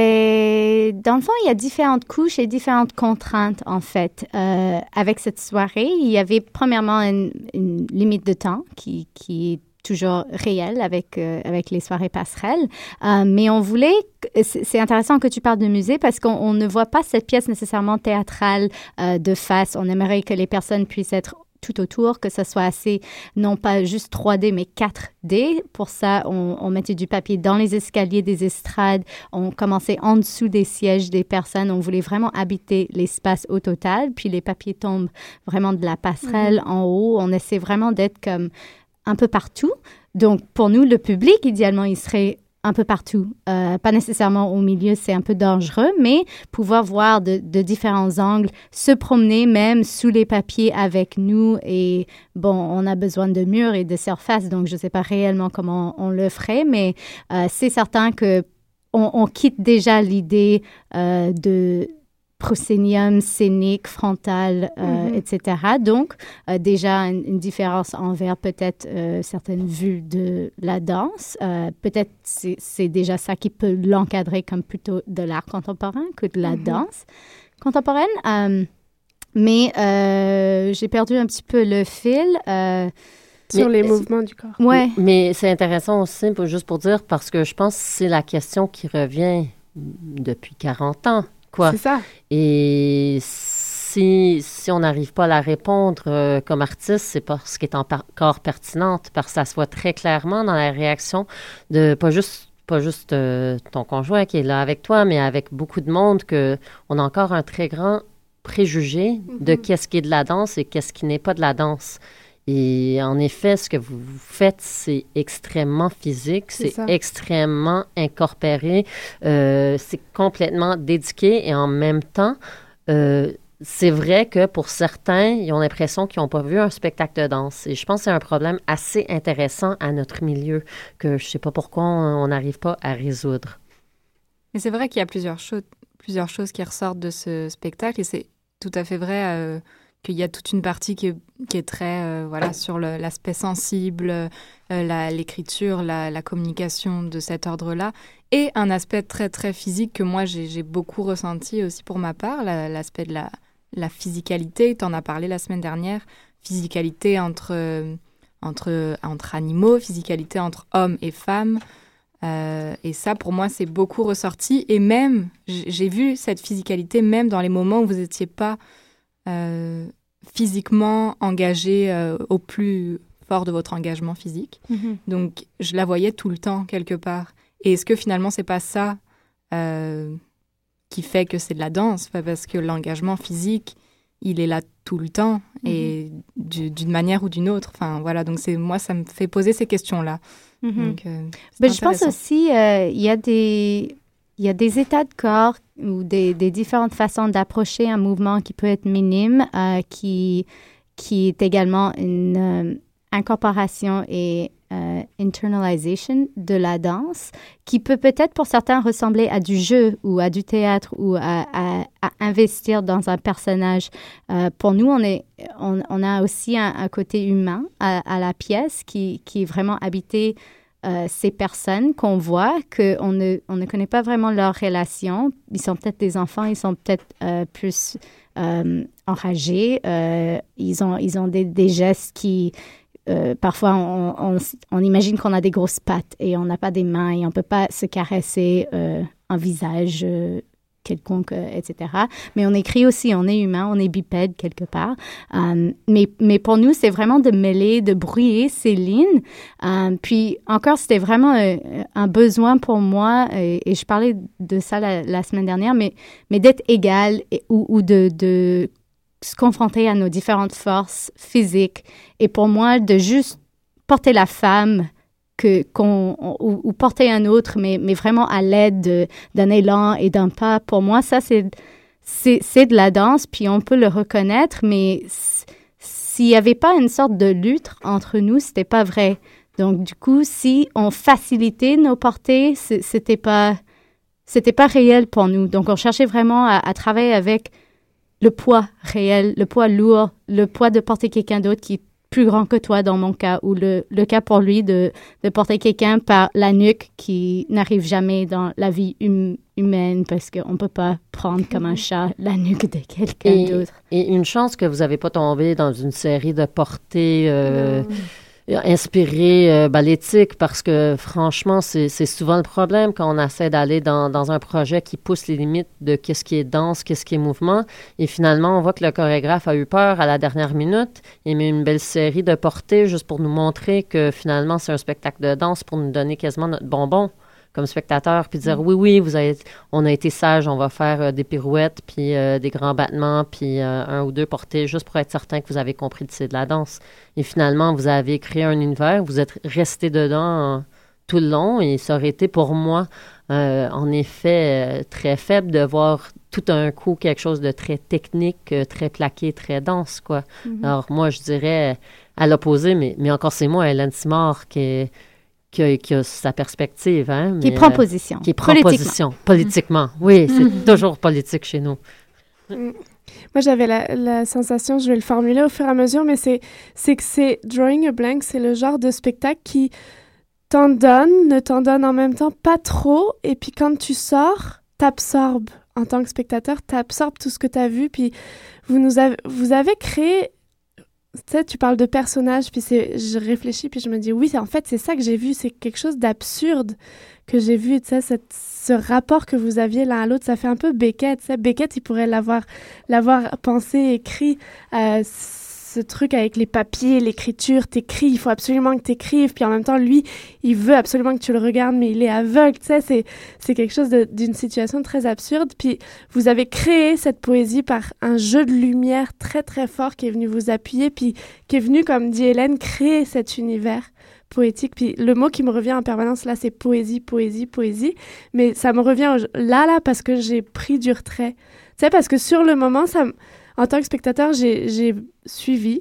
Ben, dans le fond, il y a différentes couches et différentes contraintes, en fait. Euh, avec cette soirée, il y avait premièrement une, une limite de temps qui, qui est toujours réelle avec, euh, avec les soirées passerelles. Euh, mais on voulait... C'est, c'est intéressant que tu parles de musée parce qu'on on ne voit pas cette pièce nécessairement théâtrale euh, de face. On aimerait que les personnes puissent être tout autour, que ça soit assez, non pas juste trois D, mais quatre D. Pour ça, on, on mettait du papier dans les escaliers des estrades. On commençait en dessous des sièges des personnes. On voulait vraiment habiter l'espace au total. Puis les papiers tombent vraiment de la passerelle mmh. en haut. On essaie vraiment d'être comme un peu partout. Donc, pour nous, le public, idéalement, il serait un peu partout. Euh, pas nécessairement au milieu, c'est un peu dangereux, mais pouvoir voir de, de différents angles, se promener même sous les papiers avec nous. Et bon, on a besoin de murs et de surfaces, donc je ne sais pas réellement comment on, on le ferait, mais euh, c'est certain que on, on quitte déjà l'idée euh, de proscénium, scénique, frontal, euh, mm-hmm. et cetera. Donc, euh, déjà, une, une différence envers peut-être euh, certaines vues de la danse. Euh, peut-être c'est, c'est déjà ça qui peut l'encadrer comme plutôt de l'art contemporain que de la mm-hmm. danse contemporaine. Euh, mais euh, j'ai perdu un petit peu le fil. Euh, Sur mais, les mouvements du corps. Ouais. Mais c'est intéressant aussi, juste pour dire, parce que je pense que c'est la question qui revient depuis quarante ans. Quoi. C'est ça. Et si, si on n'arrive pas à la répondre euh, comme artiste, c'est parce qu'elle est encore pertinente, parce que ça se voit très clairement dans la réaction de pas juste, pas juste euh, ton conjoint qui est là avec toi, mais avec beaucoup de monde, qu'on a encore un très grand préjugé mm-hmm. de qu'est-ce qui est de la danse et qu'est-ce qui n'est pas de la danse. Et en effet, ce que vous faites, c'est extrêmement physique, c'est, c'est extrêmement incorporé, euh, c'est complètement dédié et en même temps, euh, c'est vrai que pour certains, ils ont l'impression qu'ils n'ont pas vu un spectacle de danse. Et je pense que c'est un problème assez intéressant à notre milieu que je ne sais pas pourquoi on n'arrive pas à résoudre. Mais c'est vrai qu'il y a plusieurs choses, plusieurs choses qui ressortent de ce spectacle et c'est tout à fait vrai euh, qu'il y a toute une partie qui est, qui est très euh, voilà, sur le, l'aspect sensible, euh, la, l'écriture, la, la communication de cet ordre-là. et un aspect très, très physique que moi, j'ai, j'ai beaucoup ressenti aussi pour ma part, la, l'aspect de la, la physicalité. Tu en as parlé la semaine dernière, physicalité entre, euh, entre, entre animaux, physicalité entre hommes et femmes. Euh, et ça, pour moi, c'est beaucoup ressorti. Et même, j'ai vu cette physicalité même dans les moments où vous n'étiez pas euh, physiquement engagé euh, au plus fort de votre engagement physique. Mm-hmm. Donc, je la voyais tout le temps, quelque part. Et est-ce que finalement, c'est pas ça euh, qui fait que c'est de la danse? Parce que l'engagement physique, il est là tout le temps mm-hmm. et du, d'une manière ou d'une autre. Enfin, voilà. Donc, c'est, moi, ça me fait poser ces questions-là. Mm-hmm. Donc, euh, ben, je pense aussi il euh, y a des il y a des états de corps ou des, des différentes façons d'approcher un mouvement qui peut être minime, euh, qui qui est également une euh, incorporation et euh, internalization de la danse, qui peut peut-être pour certains ressembler à du jeu ou à du théâtre ou à, à, à investir dans un personnage. Euh, pour nous, on, est, on, on a aussi un, un côté humain à, à la pièce qui, qui est vraiment habité euh, ces personnes qu'on voit, qu'on ne, on ne connaît pas vraiment leur relation. Ils sont peut-être des enfants, ils sont peut-être euh, plus euh, enragés, euh, ils ont, ils ont des, des gestes qui... Euh, parfois, on, on, on imagine qu'on a des grosses pattes et on n'a pas des mains et on ne peut pas se caresser euh, un visage euh, quelconque, euh, et cetera. Mais on écrit aussi, on est humain, on est bipède quelque part. Euh, mais, mais pour nous, c'est vraiment de mêler, de brouiller ces lignes. Euh, puis encore, c'était vraiment euh, un besoin pour moi, et, et je parlais de ça la, la semaine dernière, mais, mais d'être égal et, ou, ou de... de se confronter à nos différentes forces physiques. Et pour moi, de juste porter la femme que, qu'on, ou, ou porter un autre, mais, mais vraiment à l'aide de, d'un élan et d'un pas, pour moi, ça, c'est, c'est, c'est de la danse, puis on peut le reconnaître, mais s'il n'y avait pas une sorte de lutte entre nous, c'était pas vrai. Donc, du coup, si on facilitait nos portées, c'était pas, c'était pas réel pour nous. Donc, on cherchait vraiment à, à travailler avec le poids réel, le poids lourd, le poids de porter quelqu'un d'autre qui est plus grand que toi dans mon cas, ou le, le cas pour lui de, de porter quelqu'un par la nuque qui n'arrive jamais dans la vie hum, humaine parce qu'on ne peut pas prendre comme un chat la nuque de quelqu'un et, d'autre. Et une chance que vous n'avez pas tombé dans une série de portées... Euh, inspiré euh, ben, l'éthique, parce que franchement, c'est, c'est souvent le problème quand on essaie d'aller dans, dans un projet qui pousse les limites de qu'est-ce qui est danse, qu'est-ce qui est mouvement. Et finalement, on voit que le chorégraphe a eu peur à la dernière minute. Il met une belle série de portées juste pour nous montrer que finalement, c'est un spectacle de danse pour nous donner quasiment notre bonbon comme spectateur, puis dire, mm. oui, oui, vous avez, on a été sages, on va faire euh, des pirouettes, puis euh, des grands battements, puis euh, un ou deux portées, juste pour être certain que vous avez compris que c'est de la danse. Et finalement, vous avez créé un univers, vous êtes resté dedans euh, tout le long, et ça aurait été pour moi, euh, en effet, euh, très faible de voir tout d'un coup quelque chose de très technique, euh, très plaqué, très dense, quoi. Mm-hmm. Alors moi, je dirais, à l'opposé, mais, mais encore c'est moi, Hélène Simard, qui est... Qui a, qui a sa perspective. Hein, qui mais, prend position. Euh, qui prend politiquement. position. Politiquement. Oui, c'est mm-hmm. toujours politique chez nous. Mm. Moi, j'avais la, la sensation, je vais le formuler au fur et à mesure, mais c'est, c'est que c'est Drawing a Blank, c'est le genre de spectacle qui t'en donne, ne t'en donne en même temps pas trop, et puis quand tu sors, t'absorbes. En tant que spectateur, t'absorbes tout ce que t'as vu, puis vous, nous avez, vous avez créé... Tu sais, tu parles de personnages, puis c'est, je réfléchis, puis je me dis, oui, en fait, c'est ça que j'ai vu, c'est quelque chose d'absurde que j'ai vu, tu sais, cette, ce rapport que vous aviez l'un à l'autre, ça fait un peu Beckett, tu sais, Beckett, il pourrait l'avoir, l'avoir pensé, écrit, euh, ce truc avec les papiers, l'écriture, t'écris, il faut absolument que t'écrives, puis en même temps, lui, il veut absolument que tu le regardes, mais il est aveugle, tu sais, c'est, c'est quelque chose de, d'une situation très absurde, puis vous avez créé cette poésie par un jeu de lumière très, très fort qui est venu vous appuyer, puis qui est venu, comme dit Hélène, créer cet univers poétique, puis le mot qui me revient en permanence, là, c'est poésie, poésie, poésie, mais ça me revient au, là, là, parce que j'ai pris du retrait, tu sais, parce que sur le moment, ça me... En tant que spectateur, j'ai, j'ai suivi,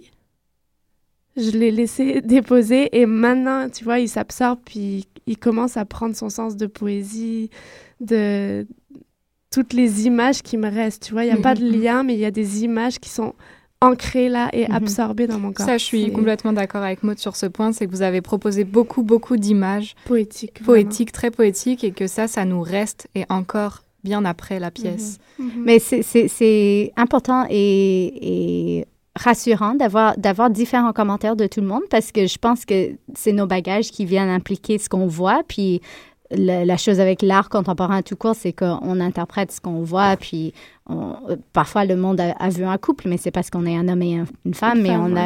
je l'ai laissé déposer et maintenant, tu vois, il s'absorbe puis il commence à prendre son sens de poésie, de toutes les images qui me restent, tu vois. Il n'y a pas de lien, mais il y a des images qui sont ancré là et Mhm. absorbé dans mon corps. Ça, je suis C'est complètement d'accord avec Maud sur ce point, c'est que vous avez proposé beaucoup, beaucoup d'images poétiques, poétiques, très poétiques, et que ça, ça nous reste, et encore bien après la pièce. Mhm. Mhm. Mais c'est- c'est c'est important et, et rassurant d'avoir d'avoir différents commentaires de tout le monde parce que je pense que c'est nos bagages qui viennent impliquer ce qu'on voit. Puis la, la chose avec l'art contemporain tout court, c'est qu'on interprète ce qu'on voit. Puis on- parfois, le monde a, a vu un couple, mais c'est parce qu'on est un homme et un- une femme, Une mais femme, on a